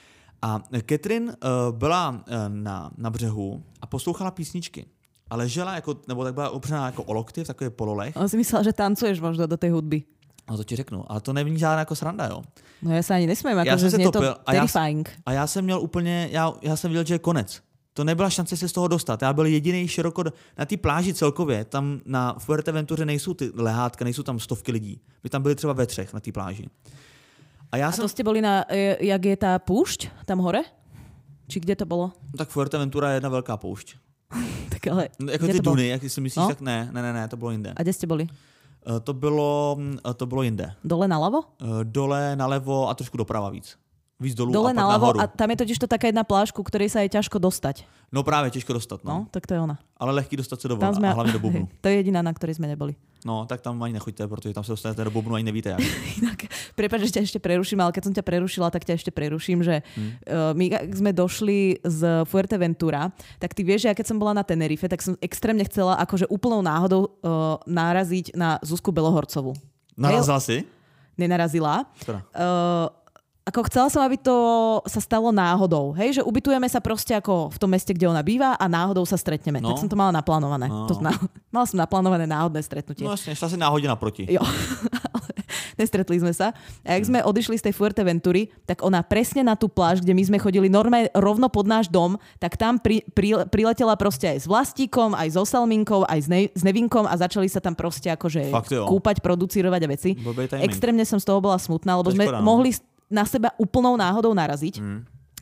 A Katrin uh, byla uh, na, na břehu a poslouchala písničky. A ležela, jako, nebo tak byla opřená jako o lokty v takových pololech. On si myslel, že tancuješ možno do tej hudby. No to ti řeknu, ale to není žádná jako sranda, jo. No já se ani nesmím, jako že znie to terrifying. A já jsem měl úplně, já, já jsem viděl, že je konec. To nebyla šance se z toho dostat. Já byl jediný široko na té pláži celkově. Tam na Fuerteventuře nejsou ty lehátka, nejsou tam stovky lidí. My tam byli třeba ve třech na té pláži. A, já a jsem... to jste byli na, jak je ta púšť tam hore? Či kde to bylo? No, tak Fuerteventura je jedna velká poušť. Tak ale no, jako ty duny, jak si myslíš, no? Tak ne, ne, ne, ne, to bylo jinde. A kde jste byli? Uh, to bylo, uh, to bylo jinde. Dole nalevo? Uh, dole nalevo a trošku doprava víc. Víc dolů dole a pak nalevo nahoru. A tam je totiž to taká jedna pláž, ku ktorej sa je ťažko dostať. No právě, těžko dostat. No, no tak to je ona. Ale lehký dostat se do vody sme... a hlavně do bubnu. To je jediná, na ktorej sme neboli. No, tak tam ani nechoďte, protože tam se dostanete do bubnu a ani nevíte jak. Inak, prepáč, že ťa ešte preruším, ale keď som ťa prerušila, tak ťa ešte preruším, že hmm. uh, my, ak sme došli z Fuerteventura, tak ty vieš, že ja keď som bola na Tenerife, tak som extrémne chcela akože úplnou náhodou uh, naraziť na Zuzku Belohorcovú. Narazila si? Nenarazila. Uh, Ako chcela som, aby to sa stalo náhodou. Hej, že ubytujeme sa proste ako v tom meste, kde ona býva a náhodou sa stretneme. No. Tak som to mala naplánované. No. To, na, mala som naplánované náhodné stretnutie. No vlastne, šla si náhodne naproti. Jo, ale nestretli sme sa. A jak sme odišli z tej Fuerteventury, tak ona presne na tú pláž, kde my sme chodili normálne rovno pod náš dom, tak tam pri, pri, priletela proste aj s Vlastíkom, aj so Salminkou, aj s, ne, s Nevinkom a začali sa tam proste akože kúpať, producírovať a veci. Extrémne som z toho bola smutná, lebo sme škoda, no. mohli na seba úplnou náhodou naraziť. Mm.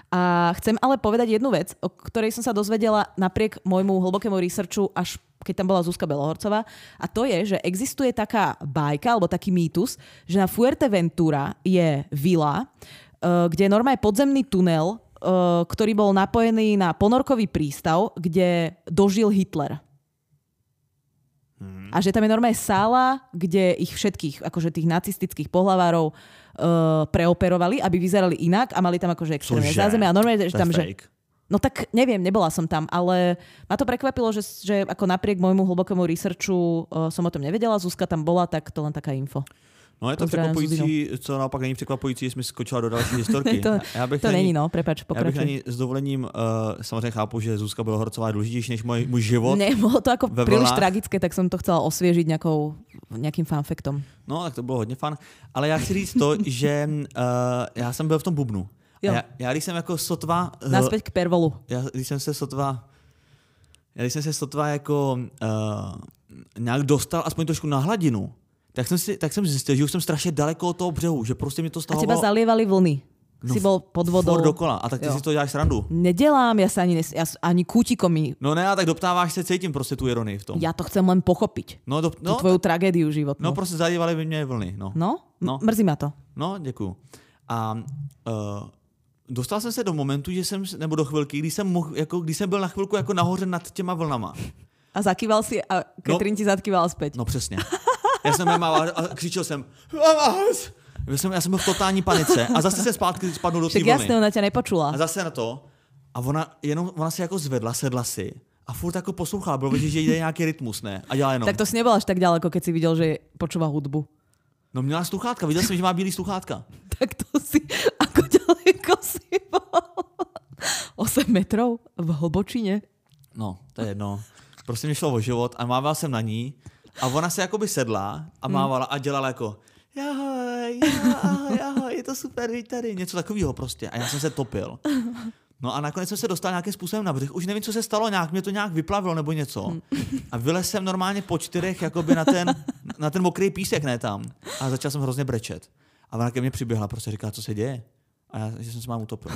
A chcem ale povedať jednu vec, o ktorej som sa dozvedela napriek môjmu hlbokému researchu, až keď tam bola Zuzka Belohorcová. A to je, že existuje taká bajka, alebo taký mýtus, že na Fuerteventura je vila, kde je normálne podzemný tunel, ktorý bol napojený na ponorkový prístav, kde dožil Hitler. Hmm. A že tam je normálne sála, kde ich všetkých, akože tých nacistických pohlavárov uh, preoperovali, aby vyzerali inak a mali tam akože extrémne zázemie. A normálne, že tam, že... No tak neviem, nebola som tam, ale ma to prekvapilo, že, že ako napriek môjmu hlbokému researchu uh, som o tom nevedela. Zuzka tam bola, tak to len taká info. No je to překvapující, co naopak není překvapující, jsme skočila do další historky. to já bych to není, no, prepač, pokračuj. Já bych ani s dovolením, uh, samozřejmě chápu, že Zuzka Belohorcová je důležitější než můj, můj život. Ne, bylo to jako příliš tragické, tak jsem to chcela osvěžit nějakou, nějakým fanfaktom. No, tak to bylo hodně fun. Ale já chci říct to, že uh, já jsem byl v tom bubnu. Já, já když jsem jako sotva... Uh, Naspäť k pervolu. Já když jsem se sotva... Já když jsem se sotva jako uh, nějak dostal aspoň trošku na hladinu, Tak jsem, si, tak jsem zjistil, že už jsem strašně daleko od toho břehu, že prostě mě to stahovalo. A teba zalievali vlny. No, si bol pod vodou. Furt dokola. A tak ty jo. si to děláš srandu. Nedělám, já se ani, nes, ja, ani kútikom mi... No ne, a tak doptáváš se, cítím prostě tu ironii v tom. Já to chcem len pochopiť. No, do, no, tu tvoju tragédiu životnú. No prostě zalievali by mě vlny. No, no? no. mrzí ma to. No, děkuju. A uh, dostal jsem se do momentu, že jsem, nebo do chvilky, kdy jsem, mohl, jako, kdy jsem byl na chvilku jako nahoře nad těma vlnama. A zakýval si a Katrin no, ti zakýval zpět. No přesně. Já jsem mával a křičel jsem já jsem, já jsem byl v totální panice a zase se zpátky spadnul do té vlny. Tak jasně, ona tě nepočula. A zase na to a ona, jenom, ona se jako zvedla, sedla si a furt jako poslouchala, bylo vidět, že jde nějaký rytmus, ne? A dělala jenom. Tak to si nebol až tak ďaleko, keď si viděl, že počúva hudbu. No měla sluchátka, viděl jsem, že má bílý sluchátka. Tak to si, ako ďaleko si bol? osm metrov v hlbočině? No, to je jedno. Prostě mi šlo o život a mával jsem na ní a ona se jakoby sedla a mávala a dělala jako ahoj, ahoj, ahoj, je to super, víš tady, něco takového prostě. A já jsem se topil. No a nakonec jsem se dostal nějakým způsobem na břeh. Už nevím, co se stalo, nějak mě to nějak vyplavilo nebo něco. A vylez jsem normálně po čtyřech jakoby na ten, na ten mokrý písek, ne tam. A začal jsem hrozně brečet. A ona ke mně přiběhla, prostě říká, co se děje. A já, že jsem se mám utopil.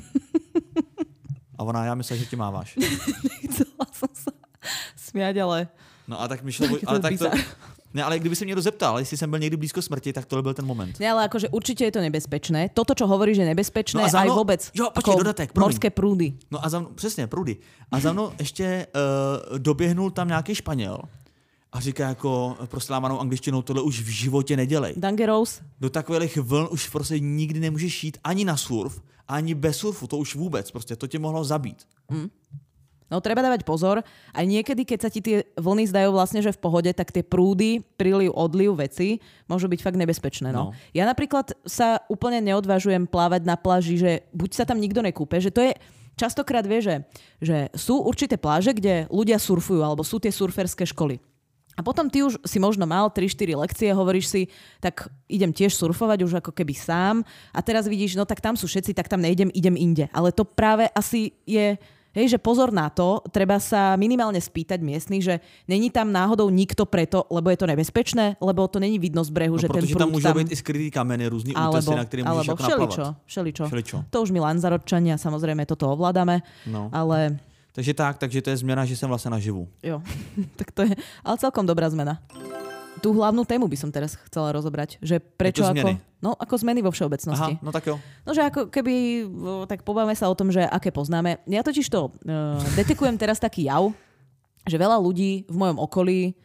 A ona, já myslím, že ti máváš. Nechcela jsem se smět, ale... No a tak mi šlo... Ale tak to, ne, ale kdyby se mě někdo zeptal, jestli jsem byl někdy blízko smrti, tak tohle byl ten moment. Ne, ale akože určitě je to nebezpečné. Toto, čo hovoríš, je nebezpečné, no aj vůbec. Jo, počkej, dodatek, morské prúdy. No a za mnou, přesně, průdy. A za mnou ještě uh, doběhnul tam nějaký Španěl a říká jako prostě lámanou angličtinou, tohle už v životě nedělej. Dangerous. Do takových vln už prostě nikdy nemůžeš jít ani na surf, ani bez surfu, to už vůbec, prostě to tě mohlo zabít. Mm. No treba dávať pozor. Aj niekedy, keď sa ti tie vlny zdajú vlastne, že v pohode, tak tie prúdy, príliv, odliv veci môžu byť fakt nebezpečné. No. No. Ja napríklad sa úplne neodvážujem plávať na pláži, že buď sa tam nikto nekúpe, že to je častokrát vie, že, že sú určité pláže, kde ľudia surfujú, alebo sú tie surferské školy. A potom ty už si možno mal tri štyri lekcie, hovoríš si, tak idem tiež surfovať už ako keby sám a teraz vidíš, no tak tam sú všetci, tak tam nejdem, idem inde. Ale to práve asi je... Hej, že pozor na to, treba sa minimálne spýtať miestnych, že není tam náhodou nikto preto, lebo je to nebezpečné, lebo to není vidno z brehu, no, že ten prúd tam... Protože tam môžu byť i skrytý kamene, různý útesy, na ktorým môžeš ako všeličo, všeličo. všeličo. To už my Lanzarotčania, samozrejme toto ovládame, no. ale... Takže tak, takže to je zmena, že som vlastne naživu. Jo, tak to je, ale celkom dobrá zmena. Tú hlavnú tému by som teraz chcela rozobrať, že prečo ako, no, ako zmeny vo všeobecnosti. Aha, no tak jo. No, že ako keby, tak pobavíme sa o tom, že aké poznáme. Ja totiž to uh, detekujem teraz taký jav, že veľa ľudí v mojom okolí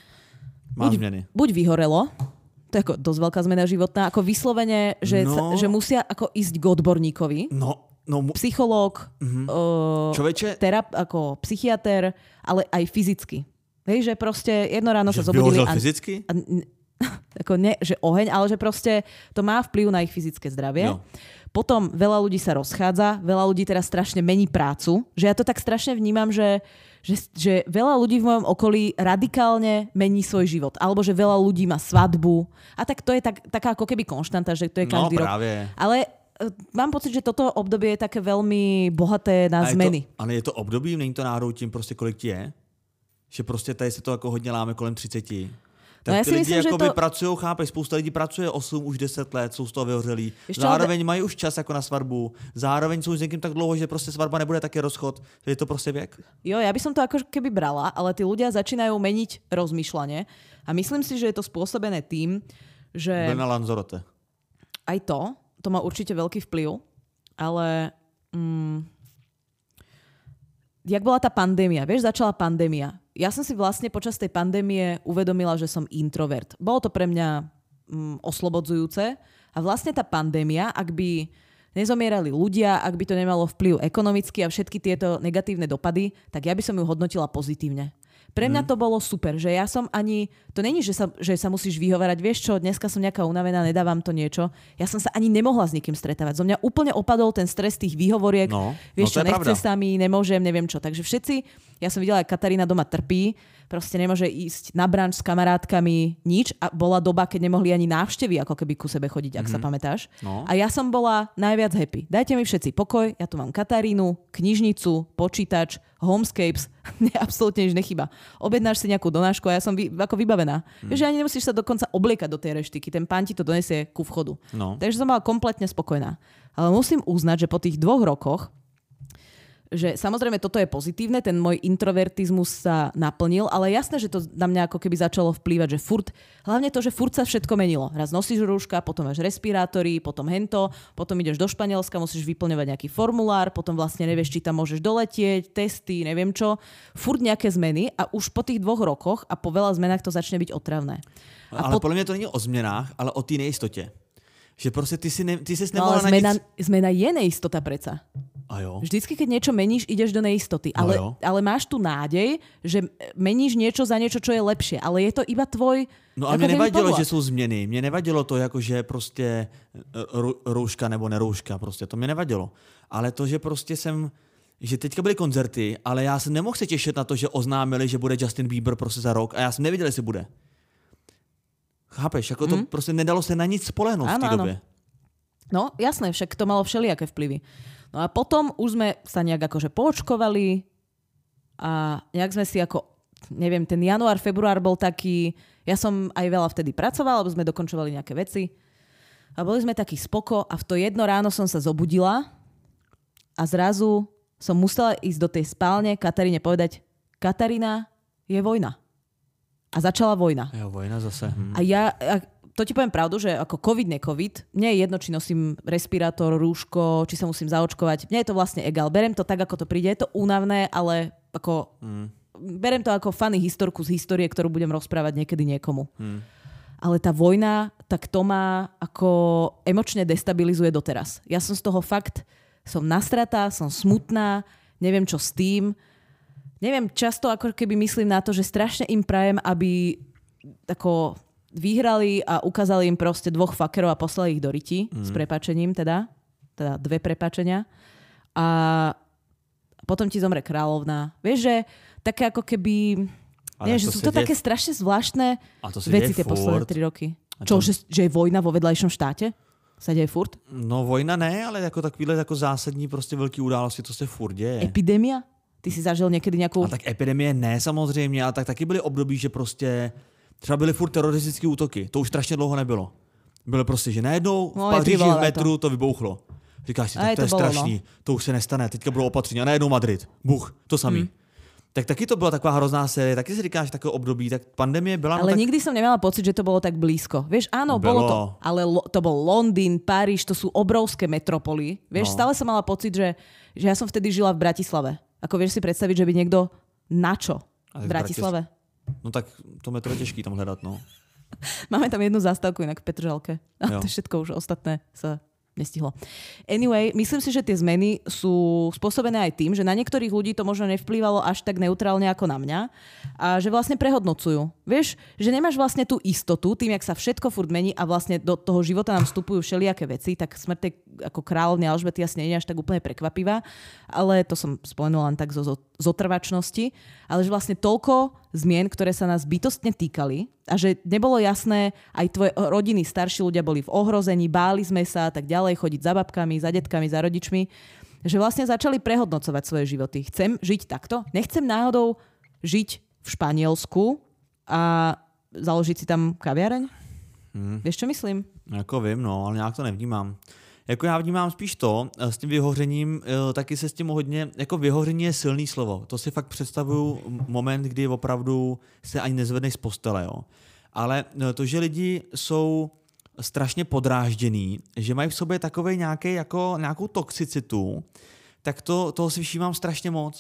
buď, buď vyhorelo, to je ako dosť veľká zmena životná, ako vyslovene, že, no, sa, že musia ako ísť k odborníkovi. No. No, mu... Psychológ, uh-huh. uh, terap, ako psychiater, ale aj fyzicky. Hej, že proste jedno ráno že sa zobudili... A, fyzicky? A, ako ne, že oheň, ale že proste to má vplyv na ich fyzické zdravie. No. Potom veľa ľudí sa rozchádza, veľa ľudí teraz strašne mení prácu. Že ja to tak strašne vnímam, že, že, že veľa ľudí v mojom okolí radikálne mení svoj život. Alebo že veľa ľudí má svadbu. A tak to je tak, taká ako keby konštanta, že to je každý no, práve. rok. Ale mám pocit, že toto obdobie je také veľmi bohaté na a zmeny. Je to, ale je to období, není to náhodou tím prostě kolik ti je? Že prostě tady se to jako hodně láme kolem třiceti. Tak no ja ty si lidi myslím, jakoby že to... pracují, chápeš, spousta lidí pracuje osm, už deset let, jsou z toho vyhořelí. Zároveň ale... mají už čas jako na svatbu, zároveň jsou s někým tak dlouho, že prostě svatba nebude taky rozchod, že je to prostě věk. Jo, ja by som to ako keby brala, ale tí ľudia začínajú meniť rozmýšľanie a myslím si, že je to spôsobené tým, že... Byl na Lanzarote. Aj to, to má určite veľký vplyv, ale... Mm, jak bola tá pandémia, vieš, začala pandémia. Ja som si vlastne počas tej pandémie uvedomila, že som introvert. Bolo to pre mňa mm, oslobodzujúce a vlastne tá pandémia, ak by nezomierali ľudia, ak by to nemalo vplyv ekonomicky a všetky tieto negatívne dopady, tak ja by som ju hodnotila pozitívne. Pre mňa to bolo super, že ja som ani... To není, že sa, že sa musíš vyhovárať. Vieš čo, dneska som nejaká unavená, nedávam to niečo. Ja som sa ani nemohla s nikým stretávať. Zo mňa úplne opadol ten stres tých výhovoriek. No, vieš no, čo, nechce sa mi, nemôžem, neviem čo. Takže všetci... Ja som videla, jak Katarína doma trpí. Proste nemôže ísť na branč s kamarátkami, nič. A bola doba, keď nemohli ani návštevy ako keby ku sebe chodiť, ak mm-hmm. sa pamätáš. No. A ja som bola najviac happy. Dajte mi všetci pokoj, ja tu mám Katarínu, knižnicu, počítač, homescapes, mne absolútne nič nechýba. Objednáš si nejakú donášku a ja som vy, ako vybavená. Mm. Vieš, že ani nemusíš sa dokonca obliekať do tej reštiky, ten pán ti to donesie ku vchodu. No. Takže som bola kompletne spokojná. Ale musím uznať, že po tých dvoch rokoch že samozrejme toto je pozitívne, ten môj introvertizmus sa naplnil, ale jasné, že to na mňa ako keby začalo vplývať, že furt, hlavne to, že furt sa všetko menilo. Raz nosíš rúška, potom máš respirátory, potom hento, potom ideš do Španielska, musíš vyplňovať nejaký formulár, potom vlastne nevieš, či tam môžeš doletieť, testy, neviem čo. Furt nejaké zmeny a už po tých dvoch rokoch a po veľa zmenách to začne byť otravné. A ale po... podľa mňa to není o zmenách, ale o té nejistotě. Že proste ty si, ne, ty si no, nemohla ale zmena, na nic... zmena je neistota preca. A jo. Vždycky, keď niečo meníš, ideš do neistoty. Ale, no ale máš tu nádej, že meníš niečo za niečo, čo je lepšie. Ale je to iba tvoj... No a mne nevadilo, že sú změny. Mne nevadilo to, jako že prostě růžka nebo nerůžka. Prostě. To mě nevadilo. Ale to, že prostě jsem... Že teďka byly koncerty, ale já se nemohl se těšit na to, že oznámili, že bude Justin Bieber prostě za rok a já jsem nevěděl, jestli bude. Chápeš? Jako to mm. prostě nedalo se na nic spolehnout v té době. No jasné, však to malo všelijaké vplyvy. No a potom už sme sa nejak akože poočkovali a nejak sme si ako, neviem, ten január, február bol taký, ja som aj veľa vtedy pracovala, lebo sme dokončovali nejaké veci a boli sme taký spoko a v to jedno ráno som sa zobudila a zrazu som musela ísť do tej spálne Kataríne povedať, Katarína, je vojna. A začala vojna. Jo, vojna zase. Hm. A ja... A to ti poviem pravdu, že ako COVID, ne COVID, mne je jedno, či nosím respirátor, rúško, či sa musím zaočkovať. Mne je to vlastne egal. Berem to tak, ako to príde. Je to únavné, ale ako... Mm. Berem to ako funny historku z histórie, ktorú budem rozprávať niekedy niekomu. Mm. Ale tá vojna, tak to ma ako emočne destabilizuje doteraz. Ja som z toho fakt... Som nastratá, som smutná, neviem čo s tým. Neviem, často ako keby myslím na to, že strašne im prajem, aby ako... vyhrali a ukázali im proste dvoch fakerov a poslali ich do riti mm. s prepáčením teda. Teda dve prepáčenia. A potom ti zomre kráľovna. Vieš, že také ako keby... Nie, že sú to deje... také strašne zvláštne veci tie posledné tri roky. Čo, to... že, že je vojna vo vedľajšom štáte? Sa deje furt? No vojna ne, ale jako takovýhle jako zásadní prostě velký události, to se furt děje. Epidemia? Ty si zažil někdy nějakou... A tak epidemie ne samozřejmě, ale tak taky byly období, že prostě třeba byly furt teroristické útoky. To už strašně dlouho nebylo. Bylo prostě, že najednou v no, Paříži v metru to. to vybouchlo. Říkáš si, tak to, to je bylo, strašný, no. To už se nestane, teďka bylo opatření a najednou Madrid. Buch, to samý. Hmm. Tak taky to byla taková hrozná série, taky si říkáš takové období, tak pandemie byla... Ale no tak... nikdy som nemala pocit, že to bolo tak blízko. Vieš, áno, bolo, bolo to, ale lo, to bol Londýn, Paríž, to sú obrovské metropoly. Vieš, no. Stále som mala pocit, že, že ja som vtedy žila v Bratislave. Ako vieš si predstaviť, že by niekto na čo v Bratislave? No tak to metro je těžký tam hledat, no. Máme tam jednu zástavku inak v Petržalke. A to všetko už ostatné sa nestihlo. Anyway, myslím si, že tie zmeny sú spôsobené aj tým, že na niektorých ľudí to možno nevplyvalo až tak neutrálne ako na mňa a že vlastne prehodnocujú. Vieš, že nemáš vlastne tú istotu tým, jak sa všetko furt mení a vlastne do toho života nám vstupujú všelijaké veci, tak smrť tej ako kráľovny Alžbety asi nie je až tak úplne prekvapivá, ale to som spomenula len tak zo, zo, z otrvačnosti, ale že vlastne toľko zmien, ktoré sa nás bytostne týkali a že nebolo jasné, aj tvoje rodiny, starší ľudia boli v ohrození, báli sme sa a tak ďalej, chodiť za babkami, za detkami, za rodičmi, že vlastne začali prehodnocovať svoje životy. Chcem žiť takto? Nechcem náhodou žiť v Španielsku a založiť si tam kaviareň? Hmm. Víš, čo myslím? Jako vím, no, ale nějak to nevnímám. Jako já vnímám spíš to, s tím vyhořením, taky se s tím hodně, jako vyhoření je silný slovo. To si fakt představuju moment, kdy opravdu se ani nezvedneš z postele, jo. Ale to, že lidi jsou strašně podrážděný, že mají v sobě takovej nějaký, jako, nějakou toxicitu, tak to, toho si všímám strašně moc.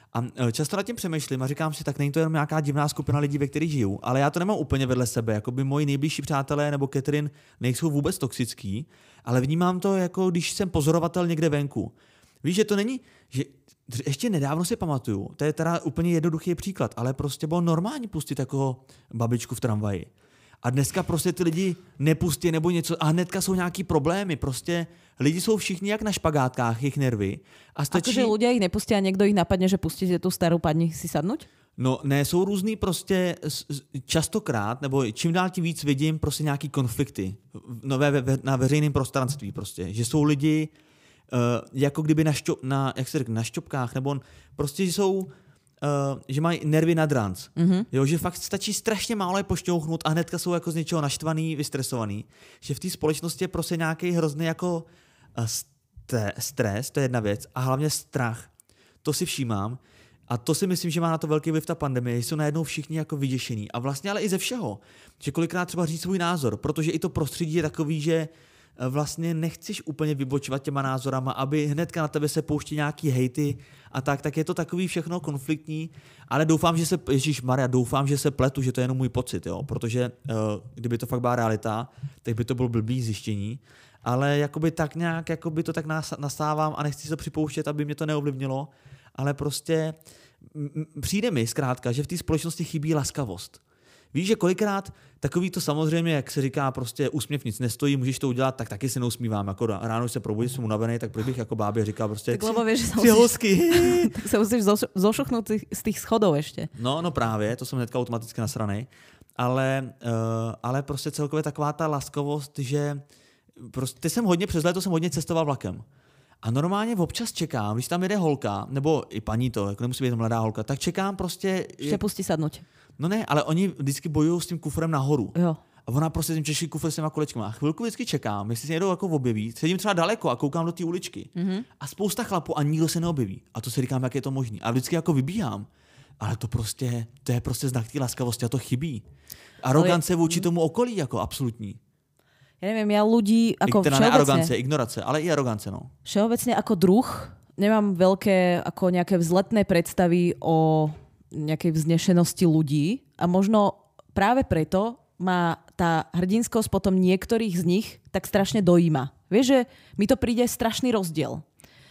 A často nad tím přemýšlím a říkám si, tak není to jenom nějaká divná skupina lidí, ve kterých žiju, ale já to nemám úplně vedle sebe, jako by moji nejbližší přátelé nebo Catherine nejsou vůbec toxický, ale vnímám to, jako když jsem pozorovatel někde venku. Víš, že to není, že ještě nedávno si pamatuju, to je teda úplně jednoduchý příklad, ale prostě bylo normální pustit jako babičku v tramvaji. A dneska prostě ty lidi nepustí nebo něco a hnedka jsou nějaký problémy. Prostě lidi jsou všichni jak na špagátkách, jejich nervy. A stačí... Akože ľudia ich nepustí a niekto ich napadne, že pustíte tú starú padni si sadnúť? No ne, jsou různý prostě častokrát, nebo čím dál tím víc vidím prostě nějaký konflikty no, ve, ve, na veřejném prostranství prostě. Že jsou lidi uh, jako kdyby na, šťo, na, jak se řekne, na šťopkách, nebo prostě jsou... Uh, že mají nervy nad ranc. Mm-hmm. Jo, že fakt stačí strašně málo je pošťouchnout a hnedka jsou jako z něčeho naštvaný, vystresovaný. Že v té společnosti je prostě nějaký hrozný jako uh, st- stres, to je jedna věc, a hlavně strach. To si všímám a to si myslím, že má na to velký vliv ta pandemie, že jsou najednou všichni jako vyděšený. A vlastně ale i ze všeho. Že kolikrát třeba říct svůj názor, protože i to prostředí je takový, že vlastně nechceš úplně vybočovat těma názorama, aby hnedka na tebe se pouští nějaký hejty a tak, tak je to takový všechno konfliktní, ale doufám, že se, ježišmarja, doufám, že se pletu, že to je jenom můj pocit, jo, protože uh, kdyby to fakt byla realita, tak by to bylo blbý zjištění, ale jakoby tak nějak, jakoby to tak nasávám a nechci se připouštět, aby mě to neovlivnilo, ale prostě m- přijde mi zkrátka, že v té společnosti chybí laskavost. Víš, že kolikrát takový to samozřejmě, jak se říká, prostě úsměv nic nestojí, můžeš to udělat, tak taky si neusmívám. Jako ráno se probudím, jsem unavený, tak proč bych jako bábě říkal prostě tak lebo vieš, že tři housky. Tak se musíš zošuchnout z těch schodov ještě. No, no právě, to jsem hnedka automaticky nasranej. Ale, uh, ale prostě celkově taková ta laskavost, že prostě jsem hodně, přes léto jsem hodně cestoval vlakem. A normálně občas čekám, když tam jede holka, nebo i paní to, jako nemusí být mladá holka, tak čekám prostě... Ještě pustí sadnout. No ne, ale oni vždycky bojují s tím kufrem nahoru. Jo. A ona prostě tím těžší kufr s těma kolečkama. A chvilku vždycky čekám, jestli se někdo jako objeví. Sedím třeba daleko a koukám do té uličky. Mm-hmm. A spousta chlapů a nikdo se neobjeví. A to si říkám, jak je to možné. A vždycky jako vybíhám. Ale to prostě, to je prostě znak té laskavosti a to chybí. Arogance ale... vůči tomu okolí jako absolutní. Ja neviem, ja ľudí ako teda všeobecne... ne arogance, ignorace, ale i arogance, no. Všeobecne ako druh nemám veľké ako nejaké vzletné predstavy o nejakej vznešenosti ľudí a možno práve preto ma tá hrdinskosť potom niektorých z nich tak strašne dojíma. Vieš, že mi to príde strašný rozdiel.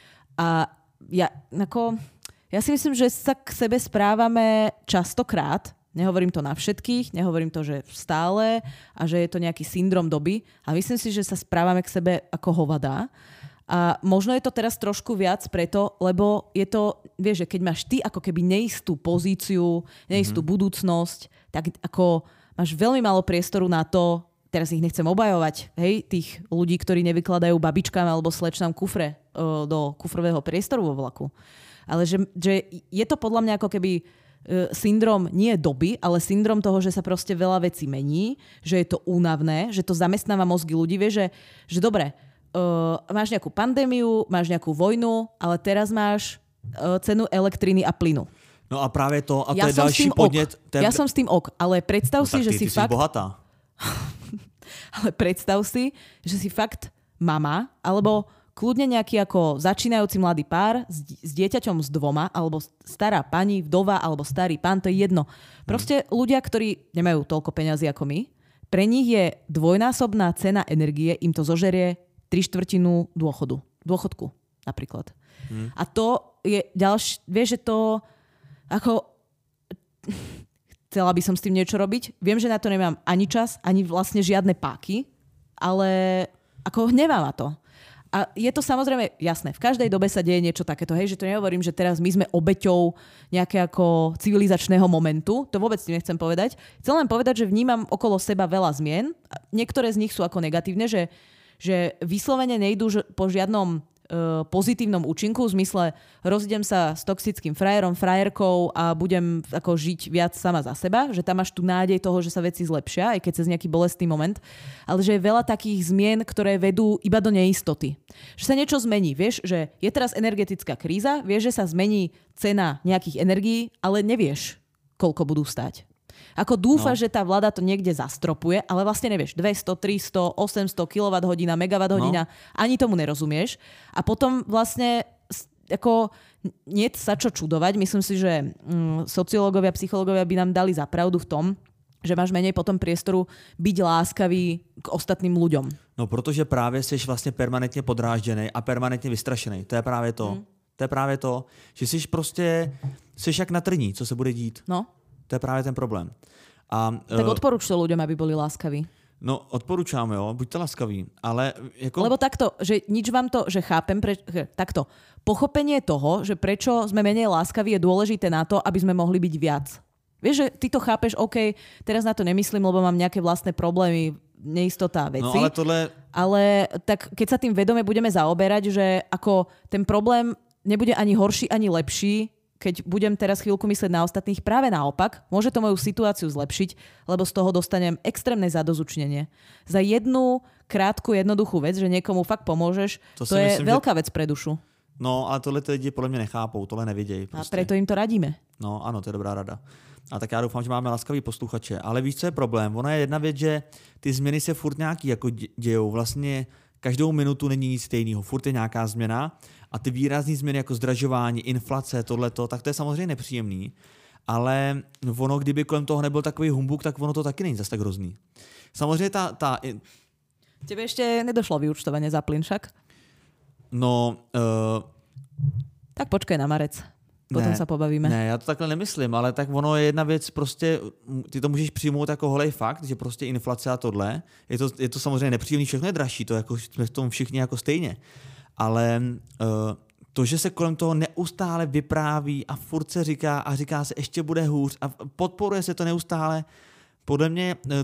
A ja, ako, ja si myslím, že sa k sebe správame častokrát. Nehovorím to na všetkých, nehovorím to, že stále a že je to nejaký syndrom doby. A myslím si, že sa správame k sebe ako hovadá. A možno je to teraz trošku viac preto, lebo je to, vieš, že keď máš ty ako keby neistú pozíciu, neistú mm-hmm. budúcnosť, tak ako máš veľmi málo priestoru na to, teraz ich nechcem obajovať, hej, tých ľudí, ktorí nevykladajú babičkám alebo slečnám kufre uh, do kufrového priestoru vo vlaku. Ale že, že je to podľa mňa ako keby syndrom nie doby, ale syndrom toho, že sa proste veľa vecí mení, že je to únavné, že to zamestnáva mozgy ľudí. Vieš, že, že dobre, uh, máš nejakú pandémiu, máš nejakú vojnu, ale teraz máš uh, cenu elektriny a plynu. No a právě to, a to ja je další podnět. Te... Ja som s tým ok, ale predstav no, si, ty, že ty si ty fakt... bohatá. Ale predstav si, že si fakt mama, alebo kľudne nejaký ako začínajúci mladý pár s, s dieťaťom s dvoma, alebo stará pani, vdova, alebo starý pán, to je jedno. Proste hmm. ľudia, ktorí nemajú toľko peňazí ako my, pre nich je dvojnásobná cena energie, im to zožerie tri štvrtinu dôchodu. Dôchodku napríklad. Hmm. A to je ďalšie, vieš, že to ako... Chcela by som s tým niečo robiť. Viem, že na to nemám ani čas, ani vlastne žiadne páky, ale ako hnevá ma to. A je to samozrejme jasné, v každej dobe sa deje niečo takéto, hej, že to nehovorím, že teraz my sme obeťou nejakého ako civilizačného momentu, to vôbec tým nechcem povedať. Chcem len povedať, že vnímam okolo seba veľa zmien, niektoré z nich sú ako negatívne, že, že vyslovene nejdú po žiadnom pozitívnom účinku, v zmysle rozidem sa s toxickým frajerom, frajerkou a budem ako žiť viac sama za seba, že tam máš tú nádej toho, že sa veci zlepšia, aj keď cez nejaký bolestný moment, ale že je veľa takých zmien, ktoré vedú iba do neistoty. Že sa niečo zmení, vieš, že je teraz energetická kríza, vieš, že sa zmení cena nejakých energií, ale nevieš, koľko budú stáť. Ako dúfaš, no. že tá vláda to niekde zastropuje, ale vlastne nevieš, dvesto, tristo, osemsto kilowatthodín, megawatthodín, no. ani tomu nerozumieš. A potom vlastne ako nie sa čo čudovať. Myslím si, že mm, sociológovia, psychológovia by nám dali za pravdu v tom, že máš menej potom priestoru byť láskavý k ostatným ľuďom. No, protože právě jsi vlastně permanentně podrážděný a permanentně vystrašený. To je právě to. Hmm. To je právě to, že jsi prostě, jsi jak na trní, co se bude dít. No. To je právě ten problém. A, tak odporúč to ľuďom, aby boli láskaví. No, odporúčam, jo, buďte láskaví, ale jako... Lebo takto, že nič vám to, že chápem, pre, takto, pochopenie toho, že prečo sme menej láskaví je dôležité na to, aby sme mohli byť viac. Vieš, že ty to chápeš, OK, teraz na to nemyslím, lebo mám nejaké vlastné problémy, neistota veci. No, ale tohle... Ale tak keď sa tým vedome budeme zaoberať, že ako ten problém nebude ani horší, ani lepší, keď budem teraz chvíľku myslieť na ostatných, práve naopak, môže to moju situáciu zlepšiť, lebo z toho dostanem extrémne zadozučnenie. Za jednu krátku, jednoduchú vec, že niekomu fakt pomôžeš, to, to je myslím, veľká že... vec pre dušu. No, ale tohle ty lidi podle mě nechápou, tohle nevidějí. Prostě. A preto im to radíme. No, ano, to je dobrá rada. A tak já doufám, že máme laskavý posluchače. Ale víš, co je problém? Ona je jedna věc, že ty změny se furt nějaký jako dějou. Vlastně každou minutu není nic stejného. Furt je nějaká změna a ty výrazné změny jako zdražování, inflace, tohleto, tak to je samozřejmě nepříjemný. Ale ono, kdyby kolem toho nebyl takový humbuk, tak ono to taky není zase tak hrozný. Samozřejmě ta... ta... Tebe ešte nedošlo vyúčtovanie za plyn však? No... Uh... Tak počkej na marec. Potom ne, sa pobavíme. Ne, já to takhle nemyslím, ale tak ono je jedna věc, prostě ty to můžeš přijmout jako holej fakt, že prostě inflace a tohle, je to, je to samozřejmě nepříjemný, všechno je dražší, to jako jsme v tom všichni jako stejně. Ale uh, to, že se kolem toho neustále vypráví a furt se říká a říká se, ještě bude hůř a podporuje se to neustále, podle mě uh,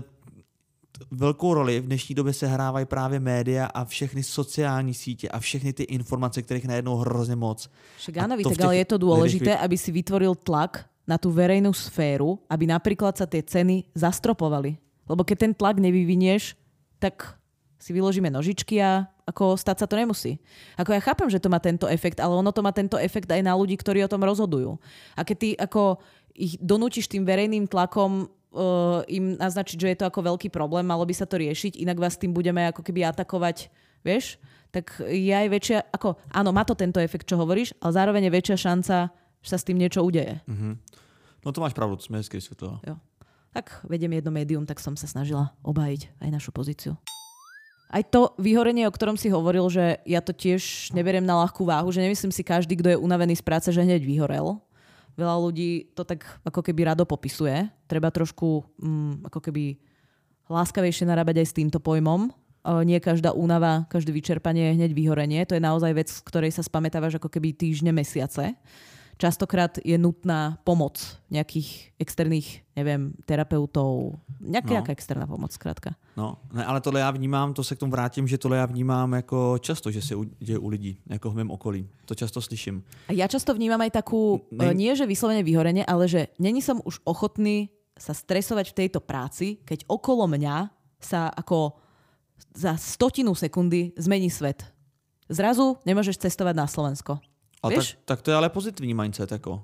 velkou roli v dnešní době se hrávají právě média a všechny sociální sítě a všechny ty informace, kterých najednou hrozně moc. Však áno, tak ale je to dôležité, aby si vytvoril tlak na tú verejnú sféru, aby napríklad sa tie ceny zastropovali. Lebo keď ten tlak nevyvinieš, tak si vyložíme nožičky a ako stať sa to nemusí. Ako ja chápem, že to má tento efekt, ale ono to má tento efekt aj na ľudí, ktorí o tom rozhodujú. A keď ty ako ich donútiš tým verejným tlakom Uh, im naznačiť, že je to ako veľký problém, malo by sa to riešiť, inak vás tým budeme ako keby atakovať, vieš? Tak je aj väčšia, ako, áno, má to tento efekt, čo hovoríš, ale zároveň je väčšia šanca, že sa s tým niečo udeje. Mm-hmm. No to máš pravdu, to sme hezky vysvetlila. Jo. Tak vediem jedno médium, tak som sa snažila obhájiť aj našu pozíciu. Aj to vyhorenie, o ktorom si hovoril, že ja to tiež neberiem na ľahkú váhu, že nemyslím si každý, kto je unavený z práce, že hneď vyhorel. Veľa ľudí to tak ako keby rado popisuje. Treba trošku mm, ako keby láskavejšie narábať aj s týmto pojmom. E, nie každá únava, každé vyčerpanie je hneď vyhorenie. To je naozaj vec, z ktorej sa spamätávaš ako keby týždne, mesiace. Častokrát je nutná pomoc nejakých externých, neviem, terapeutov. Nejaká, no. Nejaká externá pomoc, zkrátka. No, ne, ale tohle já vnímám, to se k tomu vrátím, že tohle já vnímám jako často, že se děje u lidí, jako v mém okolí. To často slyším. A ja často vnímam aj takú, ne... nie že vyslovene vyhorenie, ale že není som už ochotný sa stresovať v tejto práci, keď okolo mňa sa ako za stotinu sekundy zmení svet. Zrazu nemôžeš cestovať na Slovensko. Ale tak, tak to je ale pozitivní mindset, jako.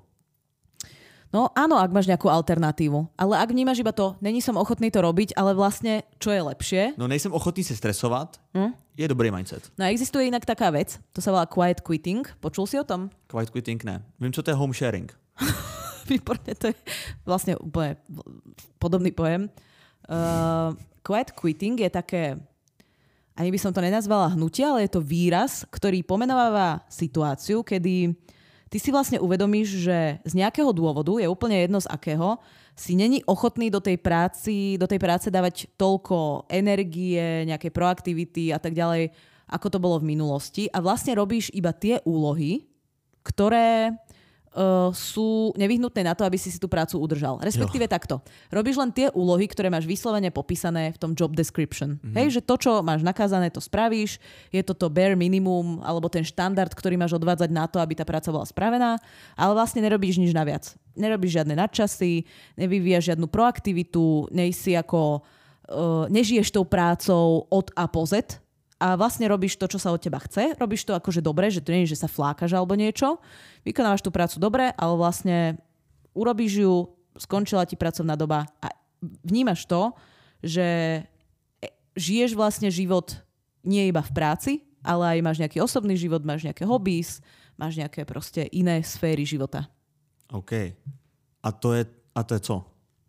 No áno, ak máš nejakú alternatívu. Ale ak vnímaš iba to, není som ochotný to robiť, ale vlastne, čo je lepšie? No nejsem ochotný se stresovat, hm? Je dobrý mindset. No a existuje inak taká vec, to sa volá quiet quitting. Počul si o tom? Quiet quitting ne. Vím, co to je home sharing. Výborne, to je vlastne úplne podobný pojem. Uh, quiet quitting je také... Ani by som to nenazvala hnutie, ale je to výraz, ktorý pomenováva situáciu, kedy ty si vlastne uvedomíš, že z nejakého dôvodu, je úplne jedno z akého, si není ochotný do tej práci, do tej práce dávať toľko energie, nejakej proaktivity a tak ďalej, ako to bolo v minulosti. A vlastne robíš iba tie úlohy, ktoré uh, sú nevyhnutné na to, aby si si tú prácu udržal. Respektíve jo. takto. Robíš len tie úlohy, ktoré máš vyslovene popísané v tom job description. Mm-hmm. Hej, že to, čo máš nakázané, to spravíš. Je to to bare minimum, alebo ten štandard, ktorý máš odvádzať na to, aby tá práca bola spravená. Ale vlastne nerobíš nič naviac. Nerobíš žiadne nadčasy, nevyvíjaš žiadnu proaktivitu, nej si ako, uh, nežiješ tou prácou od A po Z. A vlastne robíš to, čo sa od teba chce. Robíš to akože dobre, že to nie je, že sa flákaš alebo niečo. Vykonávaš tú prácu dobre, ale vlastne urobíš ju, skončila ti pracovná doba a vnímaš to, že žiješ vlastne život nie iba v práci, ale aj máš nejaký osobný život, máš nejaké hobbies, máš nejaké proste iné sféry života. OK. A to je, a to je co?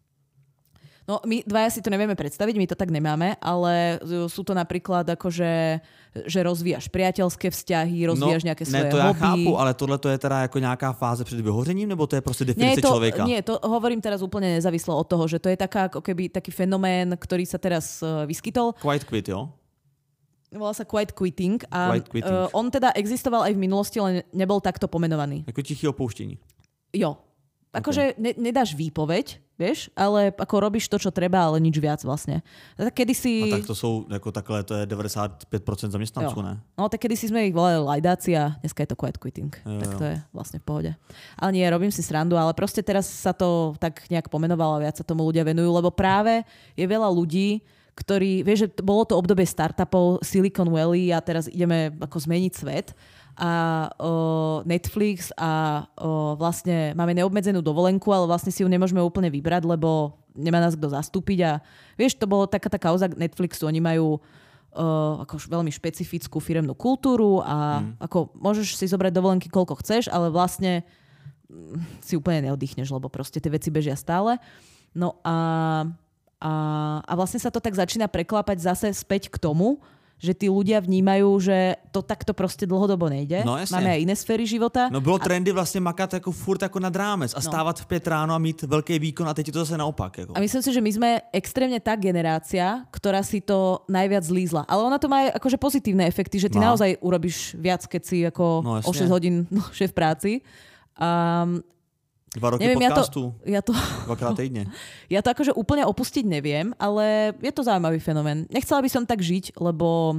No my dvaja si to nevieme predstaviť, my to tak nemáme, ale sú to napríklad akože, že rozvíjaš priateľské vzťahy, rozvíjaš no, nejaké svoje hobby. Ne, to ja chápu, ale tohle to je teda jako nějaká fáze před vyhořením, nebo to je prostě definice nie, to, člověka? Nie, to hovorím teraz úplne nezávislo od toho, že to je taká, ako keby, taký fenomén, ktorý sa teraz uh, vyskytol. Quiet quit, jo? Volá sa quiet quitting a quiet quitting. Uh, on teda existoval aj v minulosti, len nebol takto pomenovaný. Jako tiché opouštění. Jo. Akože okay. ne, nedáš výpoveď, vieš, ale ako robíš to, čo treba, ale nič viac vlastne. Tak kedysi... A tak to sú, ako takhle, to je devadesát pět procent zaměstnanců, ne? No tak kedysi sme ich volali lajdáci a dneska je to quiet quitting. Jo, tak to je vlastne v pohode. Ale nie, robím si srandu, ale proste teraz sa to tak nejak pomenovalo a viac sa tomu ľudia venujú, lebo práve je veľa ľudí, ktorí, vieš, že bolo to obdobie startupov Silicon Valley a teraz ideme ako zmeniť svet. A o, Netflix a o, vlastne máme neobmedzenú dovolenku, ale vlastne si ju nemôžeme úplne vybrať, lebo nemá nás kto zastúpiť a vieš, to bolo taká tá kauza Netflixu, oni majú o, ako veľmi špecifickú firemnú kultúru a mm. ako môžeš si zobrať dovolenky koľko chceš, ale vlastne si úplne neoddychneš, lebo proste tie veci bežia stále. No a, a, a vlastne sa to tak začína preklápať zase späť k tomu, že tí ľudia vnímajú, že to takto proste dlhodobo nejde. No, jasne. Máme aj iné sféry života. No bylo a... trendy vlastně makat jako furt jako nad rámec a stávat no. v pět ráno a mít velký výkon a teď je to zase naopak. Jako. A myslím si, že my sme extrémne tá generácia, ktorá si to najviac zlízla. Ale ona to má aj akože pozitívne efekty, že ty no. naozaj urobíš viac, keď si ako no, o šesť hodín dlhšie v práci. Um, Dva roky neviem, podcastu, ja to, ja to, dvakrát týdne. Ja to akože úplne opustiť neviem, ale je to zaujímavý fenomén. Nechcela by som tak žiť, lebo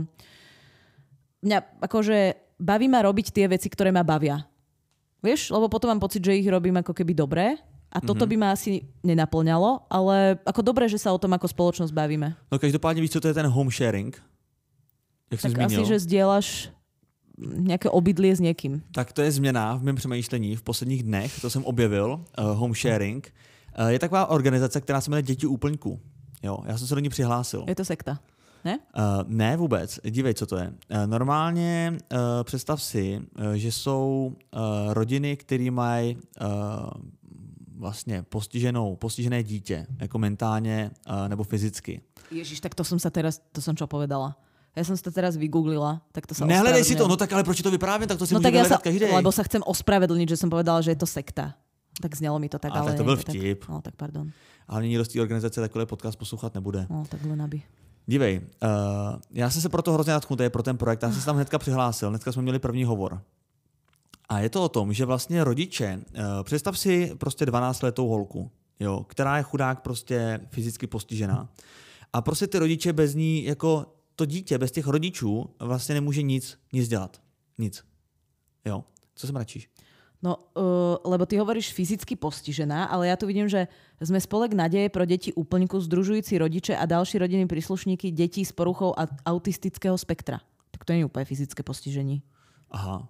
mňa akože baví ma robiť tie veci, ktoré ma bavia. Vieš? Lebo potom mám pocit, že ich robím ako keby dobre a toto mm-hmm. by ma asi nenaplňalo, ale ako dobre, že sa o tom ako spoločnosť bavíme. No každopádne víš, co to je ten home sharing? Jak tak asi, že zdieľaš nějaké obydlie s někým. Tak to je změna v mém přemýšlení v posledních dnech, to jsem objevil, uh, home sharing. Uh, je taková organizace, která se jmenuje Děti úplňků. Jo, já jsem se do ní přihlásil. Je to sekta, ne? Uh, ne vůbec, dívej, co to je. Uh, normálně uh, představ si, uh, že jsou uh, rodiny, které mají uh, vlastně postiženou, postižené dítě, jako mentálně uh, nebo fyzicky. Ježiš, tak to jsem se teraz, to jsem čo povedala. Ja som si to teraz vygooglila, tak to sa Nehledej si to, no tak ale proč to vyprávím, tak to si no může tak ja vyhledat sa, každý. Lebo sa chcem ospravedlniť, že som povedala, že je to sekta. Tak znelo mi to tak, a ale... tak to byl vtip. Tak, no tak pardon. Ale nikdo z té organizace takový podcast poslouchat nebude. No tak len aby. Dívej, uh, já jsem se proto hrozně nadchnutý pro ten projekt, já jsem se tam hnedka přihlásil, hnedka jsme měli první hovor. A je to o tom, že vlastně rodiče, uh, představ si prostě dvanáctiletou holku, jo, která je chudák prostě fyzicky postižená. A prostě ty rodiče bez ní jako to dítě bez těch rodičů vlastně nemůže nic, nic dělat. Nic. Jo? Co se mračíš? No, uh, lebo ty hovoríš fyzicky postižená, ale ja tu vidím, že sme spolek nadeje pro deti úplňku združujúci rodiče a další rodinní príslušníky detí s poruchou autistického spektra. Tak to nie je úplne fyzické postižení. Aha.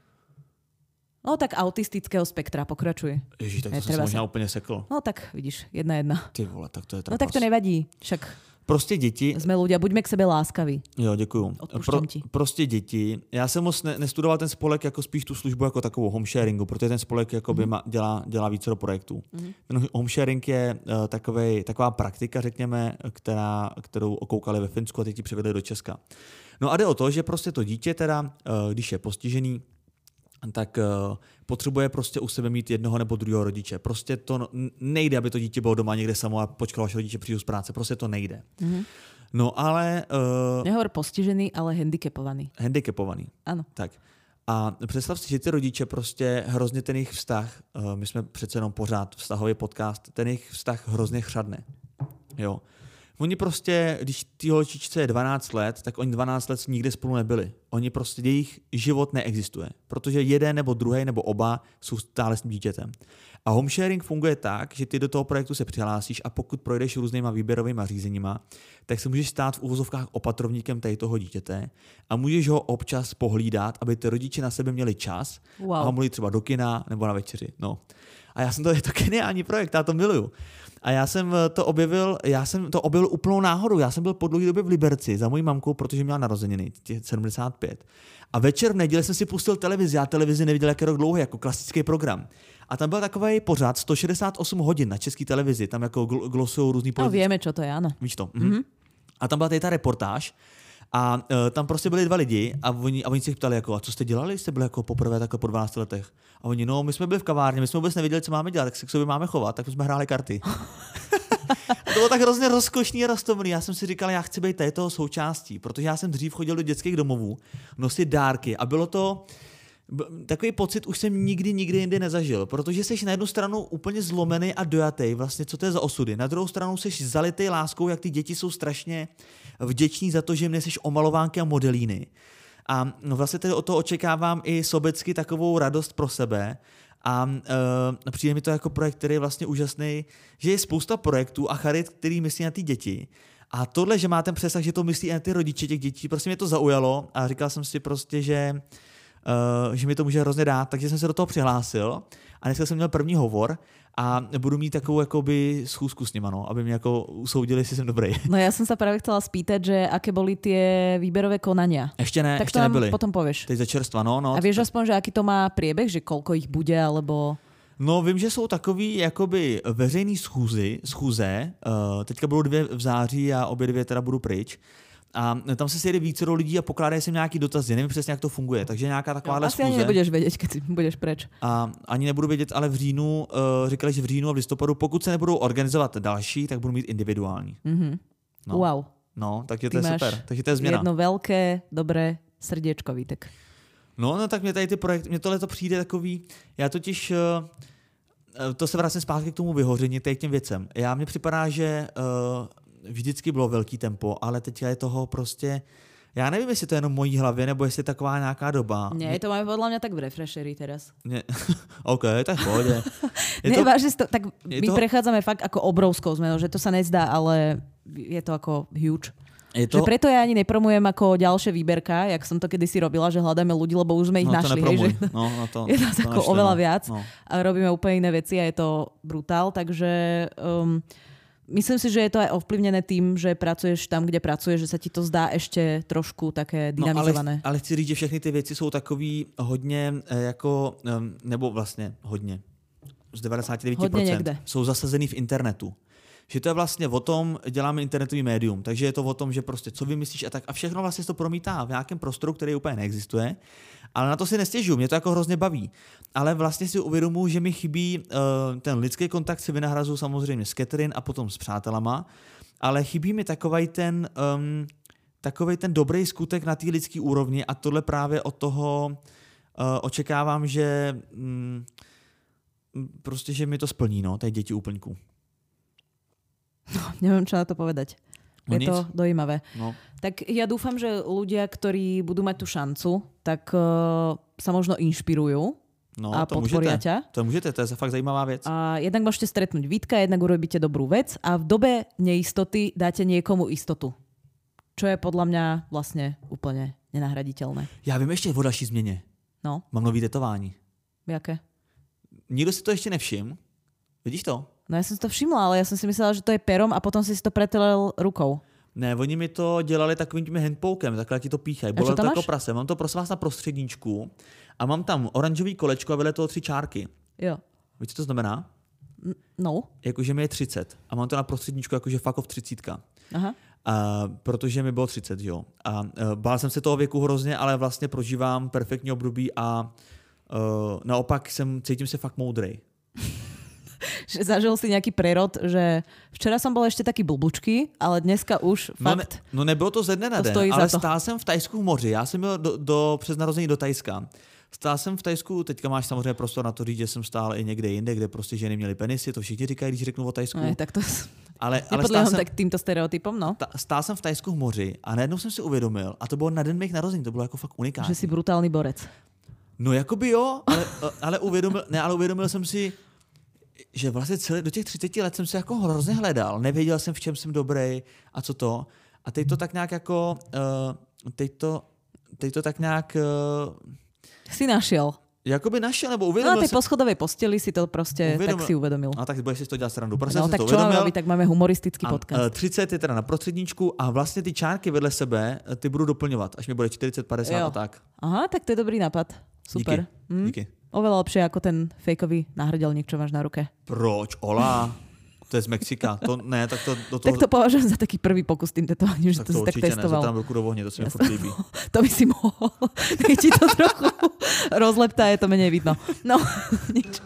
No tak autistického spektra, pokračuj. Ježiš, tak to som sa možná úplne sekl. No tak vidíš, jedna jedna. Ty vole, tak to je trapas. No tak to nevadí, však... Prostě děti... Jsme ľudia, buďme k sebe láskaví. Jo, děkuju. Pro, prostě děti. Já jsem moc ne, nestudoval ten spolek jako spíš tu službu jako takovou home sharingu, protože ten spolek jakoby mm. dělá, dělá více do projektů. Mm. Ten home sharing je uh, takovej, taková praktika, řekněme, která, kterou okoukali ve Finsku a teď ji přivedli do Česka. No a jde o to, že prostě to dítě teda, uh, když je postižený, tak uh, potřebuje prostě u sebe mít jednoho nebo druhého rodiče. Prostě to no, nejde, aby to dítě bylo doma někde samo a počkalo, až rodiče přijdou z práce. Prostě to nejde. Mm-hmm. No ale... Uh, Nehovor postižený, ale handicapovaný. Handicapovaný. Ano. Tak. A představ si, že ty rodiče prostě hrozně ten jejich vztah, my jsme přece jenom pořád vztahový podcast, ten jejich vztah hrozně chřadne. Jo. Oni prostě, když ty holčičce je dvanáct let, tak oni dvanáct let nikde spolu nebyli. Oni prostě, jejich život neexistuje, protože jeden nebo druhý nebo oba jsou stále s tím dítětem. A home sharing funguje tak, že ty do toho projektu se přihlásíš a pokud projdeš různýma výběrovými řízeníma, tak se můžeš stát v uvozovkách opatrovníkem tady toho dítěte a můžeš ho občas pohlídat, aby ty rodiče na sebe měli čas wow. a mohli třeba do kina nebo na večeři. No. A já jsem to, je to geniální projekt, já to miluju. A já jsem to objevil, já jsem to objevil úplnou náhodou. Já jsem byl po dlouhé době v Liberci za mojí mamkou, protože měla narozeniny, sedmdesát pět. A večer v neděli jsem si pustil televizi. Já televizi neviděl jak rok dlouhý, jako klasický program. A tam byl takový pořad sto šedesát osm hodin na české televizi. Tam jako glosujou různý politici. No víme, čo to je, ano. Víš to? Mhm. Mm-hmm. A tam byla tady ta reportáž. A uh, tam prostě byli dva lidi a oni, a oni se jich ptali, jako, a co jste dělali? Jste byli jako poprvé takhle po dvanácti letech. A oni, no, my jsme byli v kavárně, my jsme vůbec nevěděli, co máme dělat, tak se k sobě máme chovat, tak jsme hráli karty. A to bylo tak hrozně rozkošný a roztomilý. Já jsem si říkal, já chci být tady toho součástí, protože já jsem dřív chodil do dětských domovů nosit dárky a bylo to takový pocit už jsem nikdy, nikdy jindy nezažil, protože jsi na jednu stranu úplně zlomený a dojatý, vlastně co to je za osudy. Na druhou stranu jsi zalitý láskou, jak ty děti jsou strašně vděční za to, že mě jsi omalovánky a modelíny. A vlastně tedy o to očekávám i sobecky takovou radost pro sebe. A uh, přijde mi to jako projekt, který je vlastně úžasný, že je spousta projektů a charit, který myslí na ty děti. A tohle, že má ten přesah, že to myslí i na ty rodiče těch dětí, prostě mě to zaujalo a říkal jsem si prostě, že Uh, že mi to může hrozně dát, takže jsem se do toho přihlásil a dneska jsem měl první hovor a budu mít takovou jakoby schůzku s nima, no, aby mě jako usoudili, jestli jsem dobrý. No já jsem se právě chcela spýtať, že aké boli tie výberové konania. Ještě ne, tak ještě to nám nebyly. potom povieš. Teď za čerstva, no, no. A vieš aspoň, že aký to má priebeh, že koľko ich bude, alebo... No vím, že jsou takový jakoby veřejný schůzy, schůze, uh, teďka budou dvě v září a obě dvě teda budu pryč. A tam se sejde více lidí a pokládají si nějaký dotazy. Nevím přesně, jak to funguje. Takže nějaká takováhle no, schůze. Asi ani nebudeš vědět, když budeš preč. A ani nebudu vědět, ale v říjnu, uh, říkali, že v říjnu a v listopadu, pokud se nebudou organizovat další, tak budu mít individuální. Mm-hmm. No. Wow. No, takže to je super. Takže to je změna. Jedno velké, dobré srdiečko, Vítek. No, no tak mě tady ty projekty, mě tohle to přijde takový, já totiž, uh, to se vracím zpátky k tomu vyhoření, tady k těm věcem. Já mně připadá, že uh, vždycky bylo velký tempo, ale teď je toho prostě, já nevím, jestli to je jenom v mojí hlavě, nebo jestli je taková nějaká doba. Ne, to máme podľa mňa tak v refresheri teraz. Ne. OK, tak v pohodě. Ne, to, vážne, tak my toho, prechádzame fakt ako obrovskou zmenou, že to sa nezdá, ale je to ako huge. Je to... Že preto ja ani nepromujem ako ďalšie výberka, jak som to kedysi robila, že hľadáme ľudí, lebo už sme ich no, našli. Hej, že no, no to, je nás to ako naštve, oveľa no. viac No. a robíme úplne iné veci a je to brutál, takže um, myslím si, že je to aj ovplyvnené tým, že pracuješ tam, kde pracuješ, že sa ti to zdá ešte trošku také dynamizované. No, ale, ale chci říct, že všechny ty věci jsou takový hodně jako, nebo vlastně hodně, z devadesát devět procent jsou zasazený v internetu. Že to je vlastně o tom, děláme internetový médium, takže je to o tom, že prostě co vymyslíš a tak a všechno vlastně to promítá v nějakém prostoru, který úplně neexistuje, ale na to si nestěžuju, mě to jako hrozně baví. Ale vlastně si uvědomuji, že mi chybí uh, ten lidský kontakt, si vynahrazuju samozřejmě s Catherine a potom s přátelama, ale chybí mi takovej ten, um, takovej ten dobrý skutek na té lidské úrovni a tohle právě od toho uh, očekávám, že um, prostě, že mi to splní, no, tady děti úplňků. No, neviem, čo na to povedať. No je nic. To dojímavé. No. Tak ja dúfam, že ľudia, ktorí budú mať tú šancu, tak uh, sa možno inšpirujú no, a to podporia můžete. ťa. To můžete, to je fakt zajímavá věc. A jednak môžete stretnúť Vítka, jednak urobíte dobrú vec a v dobe neistoty dáte niekomu istotu. Čo je podľa mňa vlastne úplne nenahraditeľné. Já vím ještě o další změně. No. Mám nový tetování. Jaké? Nikdo si to ještě nevšiml. Vidíš to? No ja som si to všimla, ale ja som si myslela, že to je perom a potom si si to pretelel rukou. Ne, oni mi to dělali takovým tím handpoukem, takhle ti to píchají. Bylo to jako prase. Mám to prosím vás na prostředníčku a mám tam oranžový kolečko a vedle toho tři čárky. Jo. Víš, co to znamená? No. Jakože mi je třicet a mám to na prostředníčku jakože fuck off třicítka. Aha. A, protože mi bylo třicet, jo. A uh, bál jsem se toho věku hrozně, ale vlastně prožívám perfektní období a uh, naopak jsem, cítím se fakt moudrej. Že zažil si nejaký prerod, že včera som bol ešte taký blbučky, ale dneska už no fakt... Ne, no nebylo to ze dne na den, ale stál jsem v Tajsku v moři. Já jsem byl do, do, přes narození do Tajska. Stál jsem v Thajsku, teďka máš samozřejmě prostor na to říct, že jsem stál i někde jinde, kde prostě ženy měly penisy, to všichni říkají, když řeknu o Thajsku. Ne, tak to... Ale, ale stál jsem, tak týmto stereotypom, no. Ta, stál jsem v Thajsku v moři a najednou jsem si uvědomil, a to bylo na den mých narození, to bylo jako fakt unikátní. Že jsi brutální borec. No jakoby jo, ale, ale, uvědomil, ne, ale uvědomil jsem si, že vlastně celé, do těch třiceti let jsem se jako hrozně hledal, nevěděl jsem, v čem jsem dobrý a co to. A teď to tak nějak jako, uh, teď, to, teď to tak nějak... Uh, si našel. Jakoby našel, nebo uvědomil No a tej jsem... poschodovej posteli si to prostě uvědomil. Tak si uvedomil. No tak budeš si to dělat srandu. Prostě no tak to čo máme robiť, tak máme humoristický a, podcast. Uh, třicet je teda na prostředníčku a vlastně ty čárky vedle sebe ty budu doplňovat, až mi bude čtyřicet, padesát a tak. Aha, tak to je dobrý nápad. Super. Díky. Hm? Díky. Oveľa lepšie ako ten fejkový náhrdelník, čo máš na ruke. Proč? Ola? To je z Mexika. To ne, tak to do toho... Tak to považujem za taký prvý pokus tým tetovaním, že tak to, to si tak testoval. Ne, tam ruku do ohně, to se mi furt líbí. To by si mohol. Keď ti to trochu rozleptá, je to menej vidno. No, nič.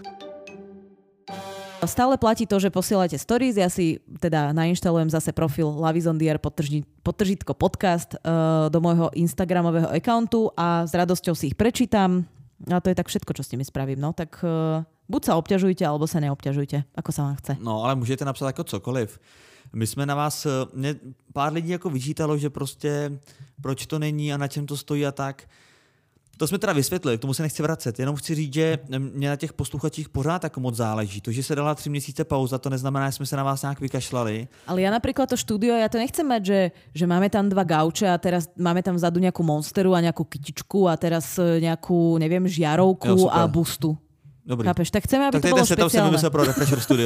Stále platí to, že posielate stories. Ja si teda nainštalujem zase profil Lavizondier podtržítko podcast uh, do môjho Instagramového accountu a s radosťou si ich prečítam. A to je tak všetko, čo s nimi spravím. No, tak uh, buď sa obťažujte, alebo sa neobťažujte, ako sa vám chce. No, ale můžete napsat jako cokoliv. My jsme na vás, mě pár lidí jako vyčítalo, že prostě proč to není a na čem to stojí a tak. To jsme teda vysvětlili, k tomu se nechci vracet. Jenom chci říct, že mě na těch posluchačích pořád jako moc záleží. To, že se dala tři měsíce pauza, to neznamená, že jsme se na vás nějak vykašlali. Ale ja napríklad to štúdio, ja to nechcem mať, že, že máme tam dva gauče a teraz máme tam vzadu nejakú monsteru a nejakú kytičku a teraz nejakú, neviem, žiarovku jo, a bustu. Dobrý. Chápeš? Tak chceme, aby tak to bolo špeciálne. Tak ten setup jsem vymyslel pro Refresher Studio.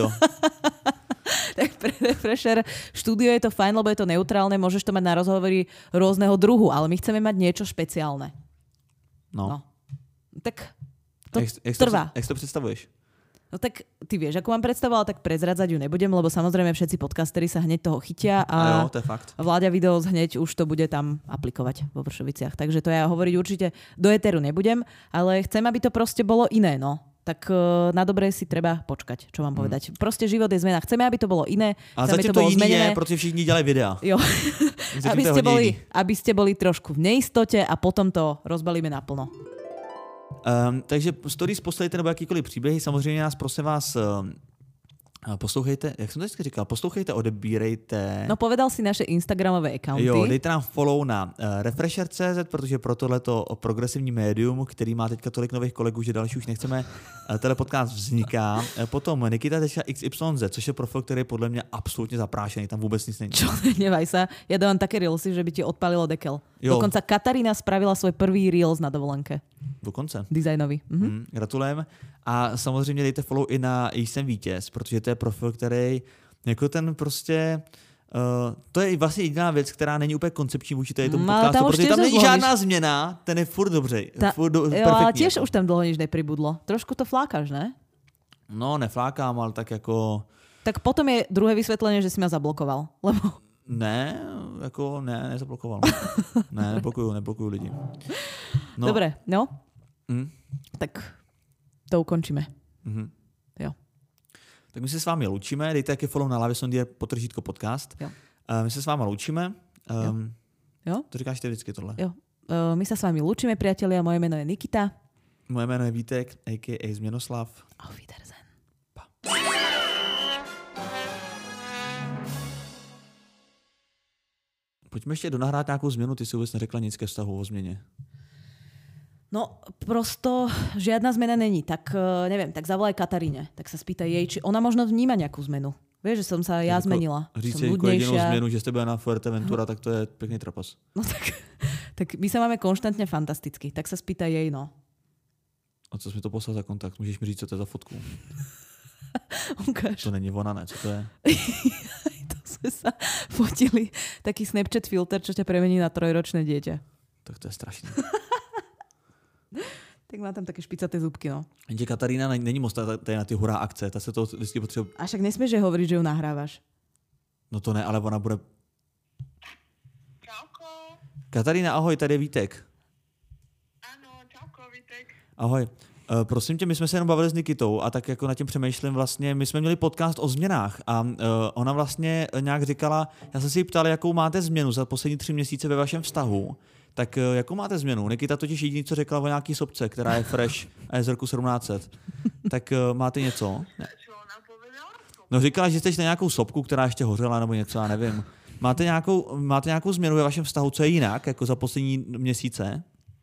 Tak pre Refresher štúdio je to fajn, lebo je to neutrálne, môžeš to mať na rozhovory rôzneho druhu, ale my chceme mať niečo špeciálne. No. no. Tak to jak, jak trvá. Jak to představuješ? No tak ty vieš, ako mám predstavovala, tak prezradzať ju nebudem, lebo samozrejme všetci podcasteri sa hneď toho chytia a, a jo, to je fakt. Vláďa Videos hneď už to bude tam aplikovať vo Vršoviciach. Takže to ja hovoriť určite do éteru nebudem, ale chcem, aby to proste bolo iné, no. Tak na dobré si treba počkať, čo mám povedať. Hmm. Proste život je zmena. Chceme, aby to bolo iné. A chceme, zatím to, to bolo jiný zmenené. je, protože všichni dělají videa. Jo. aby, ste boli, aby ste boli trošku v neistote a potom to rozbalíme naplno. Um, takže stories posledujte nebo jakýkoliv příběhy, samozřejmě nás prosím vás um, poslouchejte, jak jsem to vždycky říkal, poslouchejte, odebírejte. No povedal si naše Instagramové accounty. Jo, dejte nám follow na uh, refresher tečka cé zet, protože pro tohleto progresivní médium, který má teďka tolik nových kolegů, že další už nechceme, uh, tenhle podcast vzniká. Uh, potom nikita tečka iks ypsilon zet, což je profil, který je podle mě absolutně zaprášený, tam vůbec nic není. Čo, nevaj sa, ja dávam také reelsy, že by ti odpalilo dekel. Jo. Dokonca Katarína spravila svoj prvý reels na dovolenke. Dokonce. Designový. Mhm. Mm, gratulujeme. A samozřejmě dejte follow i na Jsem vítěz, protože to je profil, který jako ten prostě uh, to je vlastně jediná věc, která není úplně koncepční vůči tomu mm, podcastu, tam protože tam není zloníš. žádná změna, ten je furt dobře. Ta, furt do, jo, ale tiež jako. už tam dlho nič nepribudlo. Trošku to flákaš, ne? No, neflákám, ale tak jako... Tak potom je druhé vysvetlenie, že si ma zablokoval. Lebo... Ne, jako ne, nezablokoval. ne, neblokuju, neblokuju lidi. No. Dobre, no. Mm. Tak to ukončíme. Mm-hmm. Jo. Tak my se s vámi loučíme, dejte taky follow na Lavizondier podtržítko podcast. Jo. Uh, my se s vámi loučíme. Um, jo. jo. To říkáš ty vždycky tohle. Jo. Uh, my sa s vami lúčime, priatelia. Moje meno je Nikita. Moje jméno je Vítek, a ká a. Změnoslav. Auf Wiedersehen. Pa. Pojďme ještě donahrát nějakou změnu, ty si vůbec neřekla nic ke vztahu o změně. No, prosto žiadna zmena není. Tak neviem, tak zavolaj Kataríne. Tak sa spýtaj jej, či ona možno vníma nejakú zmenu. Vieš, že som sa ja jako, zmenila. Říct som si jako jedinou změnu, že jste byla na Fuerteventura, tak to je pekný trapas. No tak, tak my sa máme konštantne fantasticky. Tak sa spýtaj jej, no. A co jsi mi to poslal za kontakt? Můžeš mi říct, co to je za fotku? Ukáž. To není ona, ne? Co to je? To sme sa fotili. Taký Snapchat filter, čo ťa premení na trojročné dieťa. Tak to je strašné. Tak má tam také špicaté zubky, no. Jenže Katarína není moc tady na ty hurá akce, ta se to vždycky potřebuje... A však nesmieš že hovoriť, že ju nahrávaš. No to ne, ale ona bude... Čauko. Katarína, ahoj, tady je Vítek. Ano, čauko, Vítek. Ahoj. Uh, prosím tě, my jsme se jenom bavili s Nikitou a tak jako nad tím přemýšlím vlastně, my jsme měli podcast o změnách a uh, ona vlastně nějak říkala, já jsem si ji ptal, jakou máte změnu za poslední tři měsíce ve vašem vztahu, Tak jakou máte změnu? Nikita totiž jediný, co řekla o nějaký sopce, která je fresh a je z roku sedmnáct set. Tak máte něco? Ne. Čo ona povedala? No říkala, že jste na nějakou sopku, která ještě hořela nebo něco, já nevím. Máte nějakou, máte nějakou změnu ve vašem vztahu, co je jinak, jako za poslední měsíce?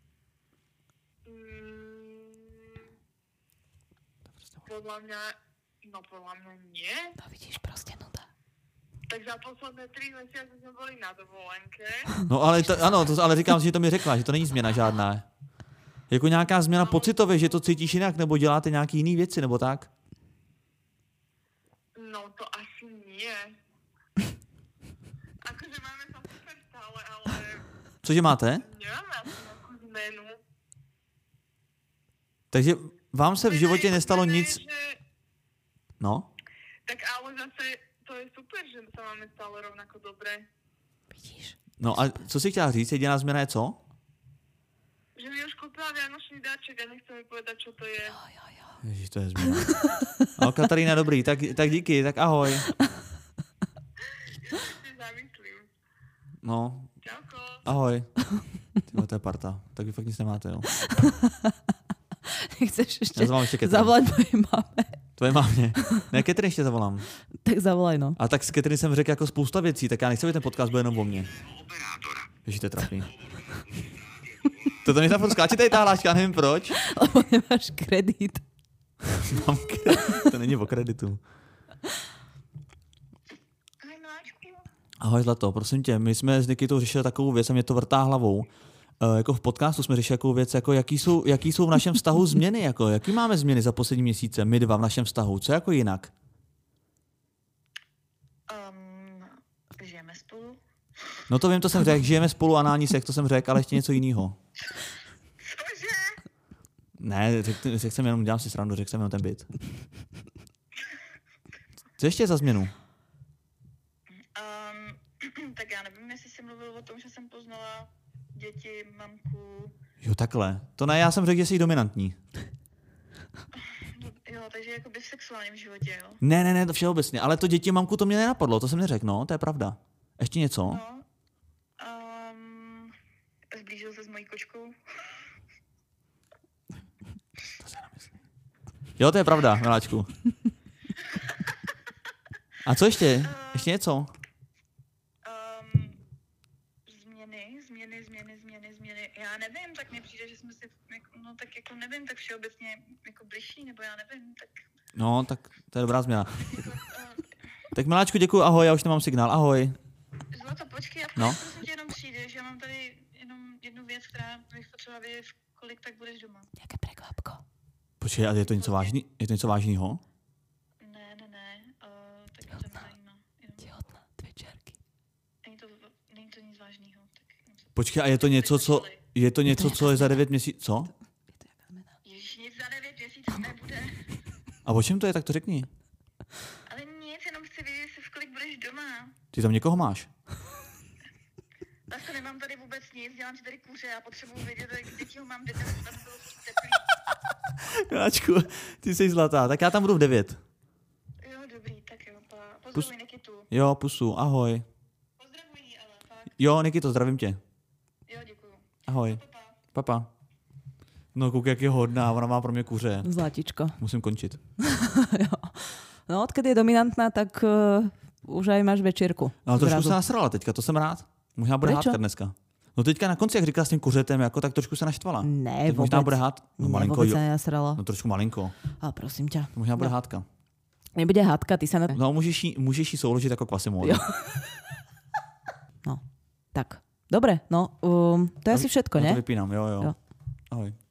Podľa mňa, no podľa mňa nie. No vidíš, prostě nuda. Tak za posledné tři mesiace sme boli na dovolenke. No ale, to, ano, to, ale říkám si, že to mi řekla, že to není změna žádná. Jako nějaká změna pocitově, že to cítíš jinak, nebo děláte nějaký jiný věci, nebo tak? No to asi nie. Akože máme sa super stále, ale Cože máte? nemáme asi nejakú zmenu. Takže vám se v životě Zmena je- nestalo zmena je, nic... že- No? Tak ale zase to je super, že sa máme stále rovnako dobre. Vidíš. No a co si chtěla říct? Jediná změna je co? Že mi už kúpila vianočný dáček a nechce mi povedať, čo to je. Jo, jo, jo. Ježiš, to je změna. No, Katarína, dobrý, tak, tak díky, tak ahoj. Ja si zamyslím. No, Čauko. ahoj. Tyhle, to je parta. Tak vy fakt nic nemáte, jo. Chceš ještě Já zavolám ještě Catherine. zavolať mojej mame? Tvoje mámě. Ne, Catherine ještě zavolám. Tak zavolaj, no. A tak s Catherine jsem řekl jako spousta věcí, tak já nechci, aby ten podcast byl jenom o mně. Ježiš, to je trapný. Toto mi tam skáče tady ta hláška, já nevím proč. Lebo nemáš kredit. Mám kredit. To není o kreditu. Ahoj, miláčku. Ahoj Zlato, prosím tě, my jsme s Nikitou řešili takovou věc a mě to vrtá hlavou. E, jako v podcastu jsme řešili takovou věc, jako jaký jsou, jaký jsou v našem vztahu změny, jako jaký máme změny za poslední měsíce, my dva v našem vztahu, co jako jinak? Um, žijeme spolu. No to vím, to jsem řekl, žijeme spolu, anální sex, to jsem řekl, ale ještě něco jiného. Cože? Ne, řekl, řekl jsem jenom, dělám si srandu, řekl jsem jenom ten byt. Co ještě za změnu? Um, tak já nevím, jestli jsi mluvil o tom, že jsem poznala děti, mamku. Jo, takhle. To ne, já jsem řekl, že jsi dominantní. Jo, takže jakoby v sexuálním životě, jo. Ne, ne, ne, to všeobecně, ale to děti mamku to mě nenapadlo, to jsem neřekl, no, to je pravda. Ještě něco? No. Um, zblížil se s mojí kočkou. Jo, to je pravda, miláčku. A co ještě? Ještě něco? Um, změny, změny, změny, změny, změny. Já nevím, tak mi přijde, že jsme si, jako, no tak jako nevím, tak všeobecně jako bližší, nebo já nevím, tak No, tak to je dobrá změna. jako, uh, Tak miláčku, děkuji, ahoj, já už nemám signál, ahoj. Zlato, počkej, a No. no. prosím tě jenom přijde, že já mám tady jenom jednu věc, která bych potřeba vědět, v kolik tak budeš doma. Jaké prekvapko. Počkej, a je to něco vážný? Je to něco vážného? Ne, ne, ne, uh, tak mě to nezajímá. Jenom, Těhotná, dvě čárky. není, to, není to nic vážného. Tak jenom se- Počkej, a je to něco, co, je to něco, co je za devět měsíců? Co? Je to jaká zmena? Ježiš, nic za devět měsíců nebude. A o čem to je, tak to řekni. Ale nic, jenom chci vědět, jestli v kolik budeš doma. Ty tam někoho máš? Vlastně nemám tady vůbec nic, dělám si tady kuře a potřebuji vědět, jak děti ho mám, kde tam tam bylo teplý. Miláčku, ty jsi zlatá, tak já tam budu v devět. Jo, dobrý, tak jo, pa. Pozdravuj Nikitu. Jo, pusu, ahoj. Pozdravuj jí, ale fakt. Jo, Nikito, zdravím tě. Jo, děkuju. Ahoj. Papa. Papa. No, kouk, jak je hodná, ona má pro mě kuře. Zlatičko. Musím končit. Jo. No, odkedy je dominantná, tak uh, už aj máš večírku. No, ale trošku Zrazu. se nasrala teďka, to jsem rád. Možná bude Prečo? hádka dneska. No teďka na konci, jak říkala s tím kuřetem, jako, tak trošku se naštvala. Ne, Tak možná vůbec. bude hád... No, Ne, malinko, vůbec jo. sa nenasrala. No trošku malinko. Ale prosím ťa. To možná bude No. hádka. Nebude hádka, ty sa na... No, můžeš jí, můžeš jí souložit jako Quasimodo. Jo. No, tak. Dobre, no, um, to je asi všetko, No ne? to vypínám, jo, jo. Jo. Ahoj.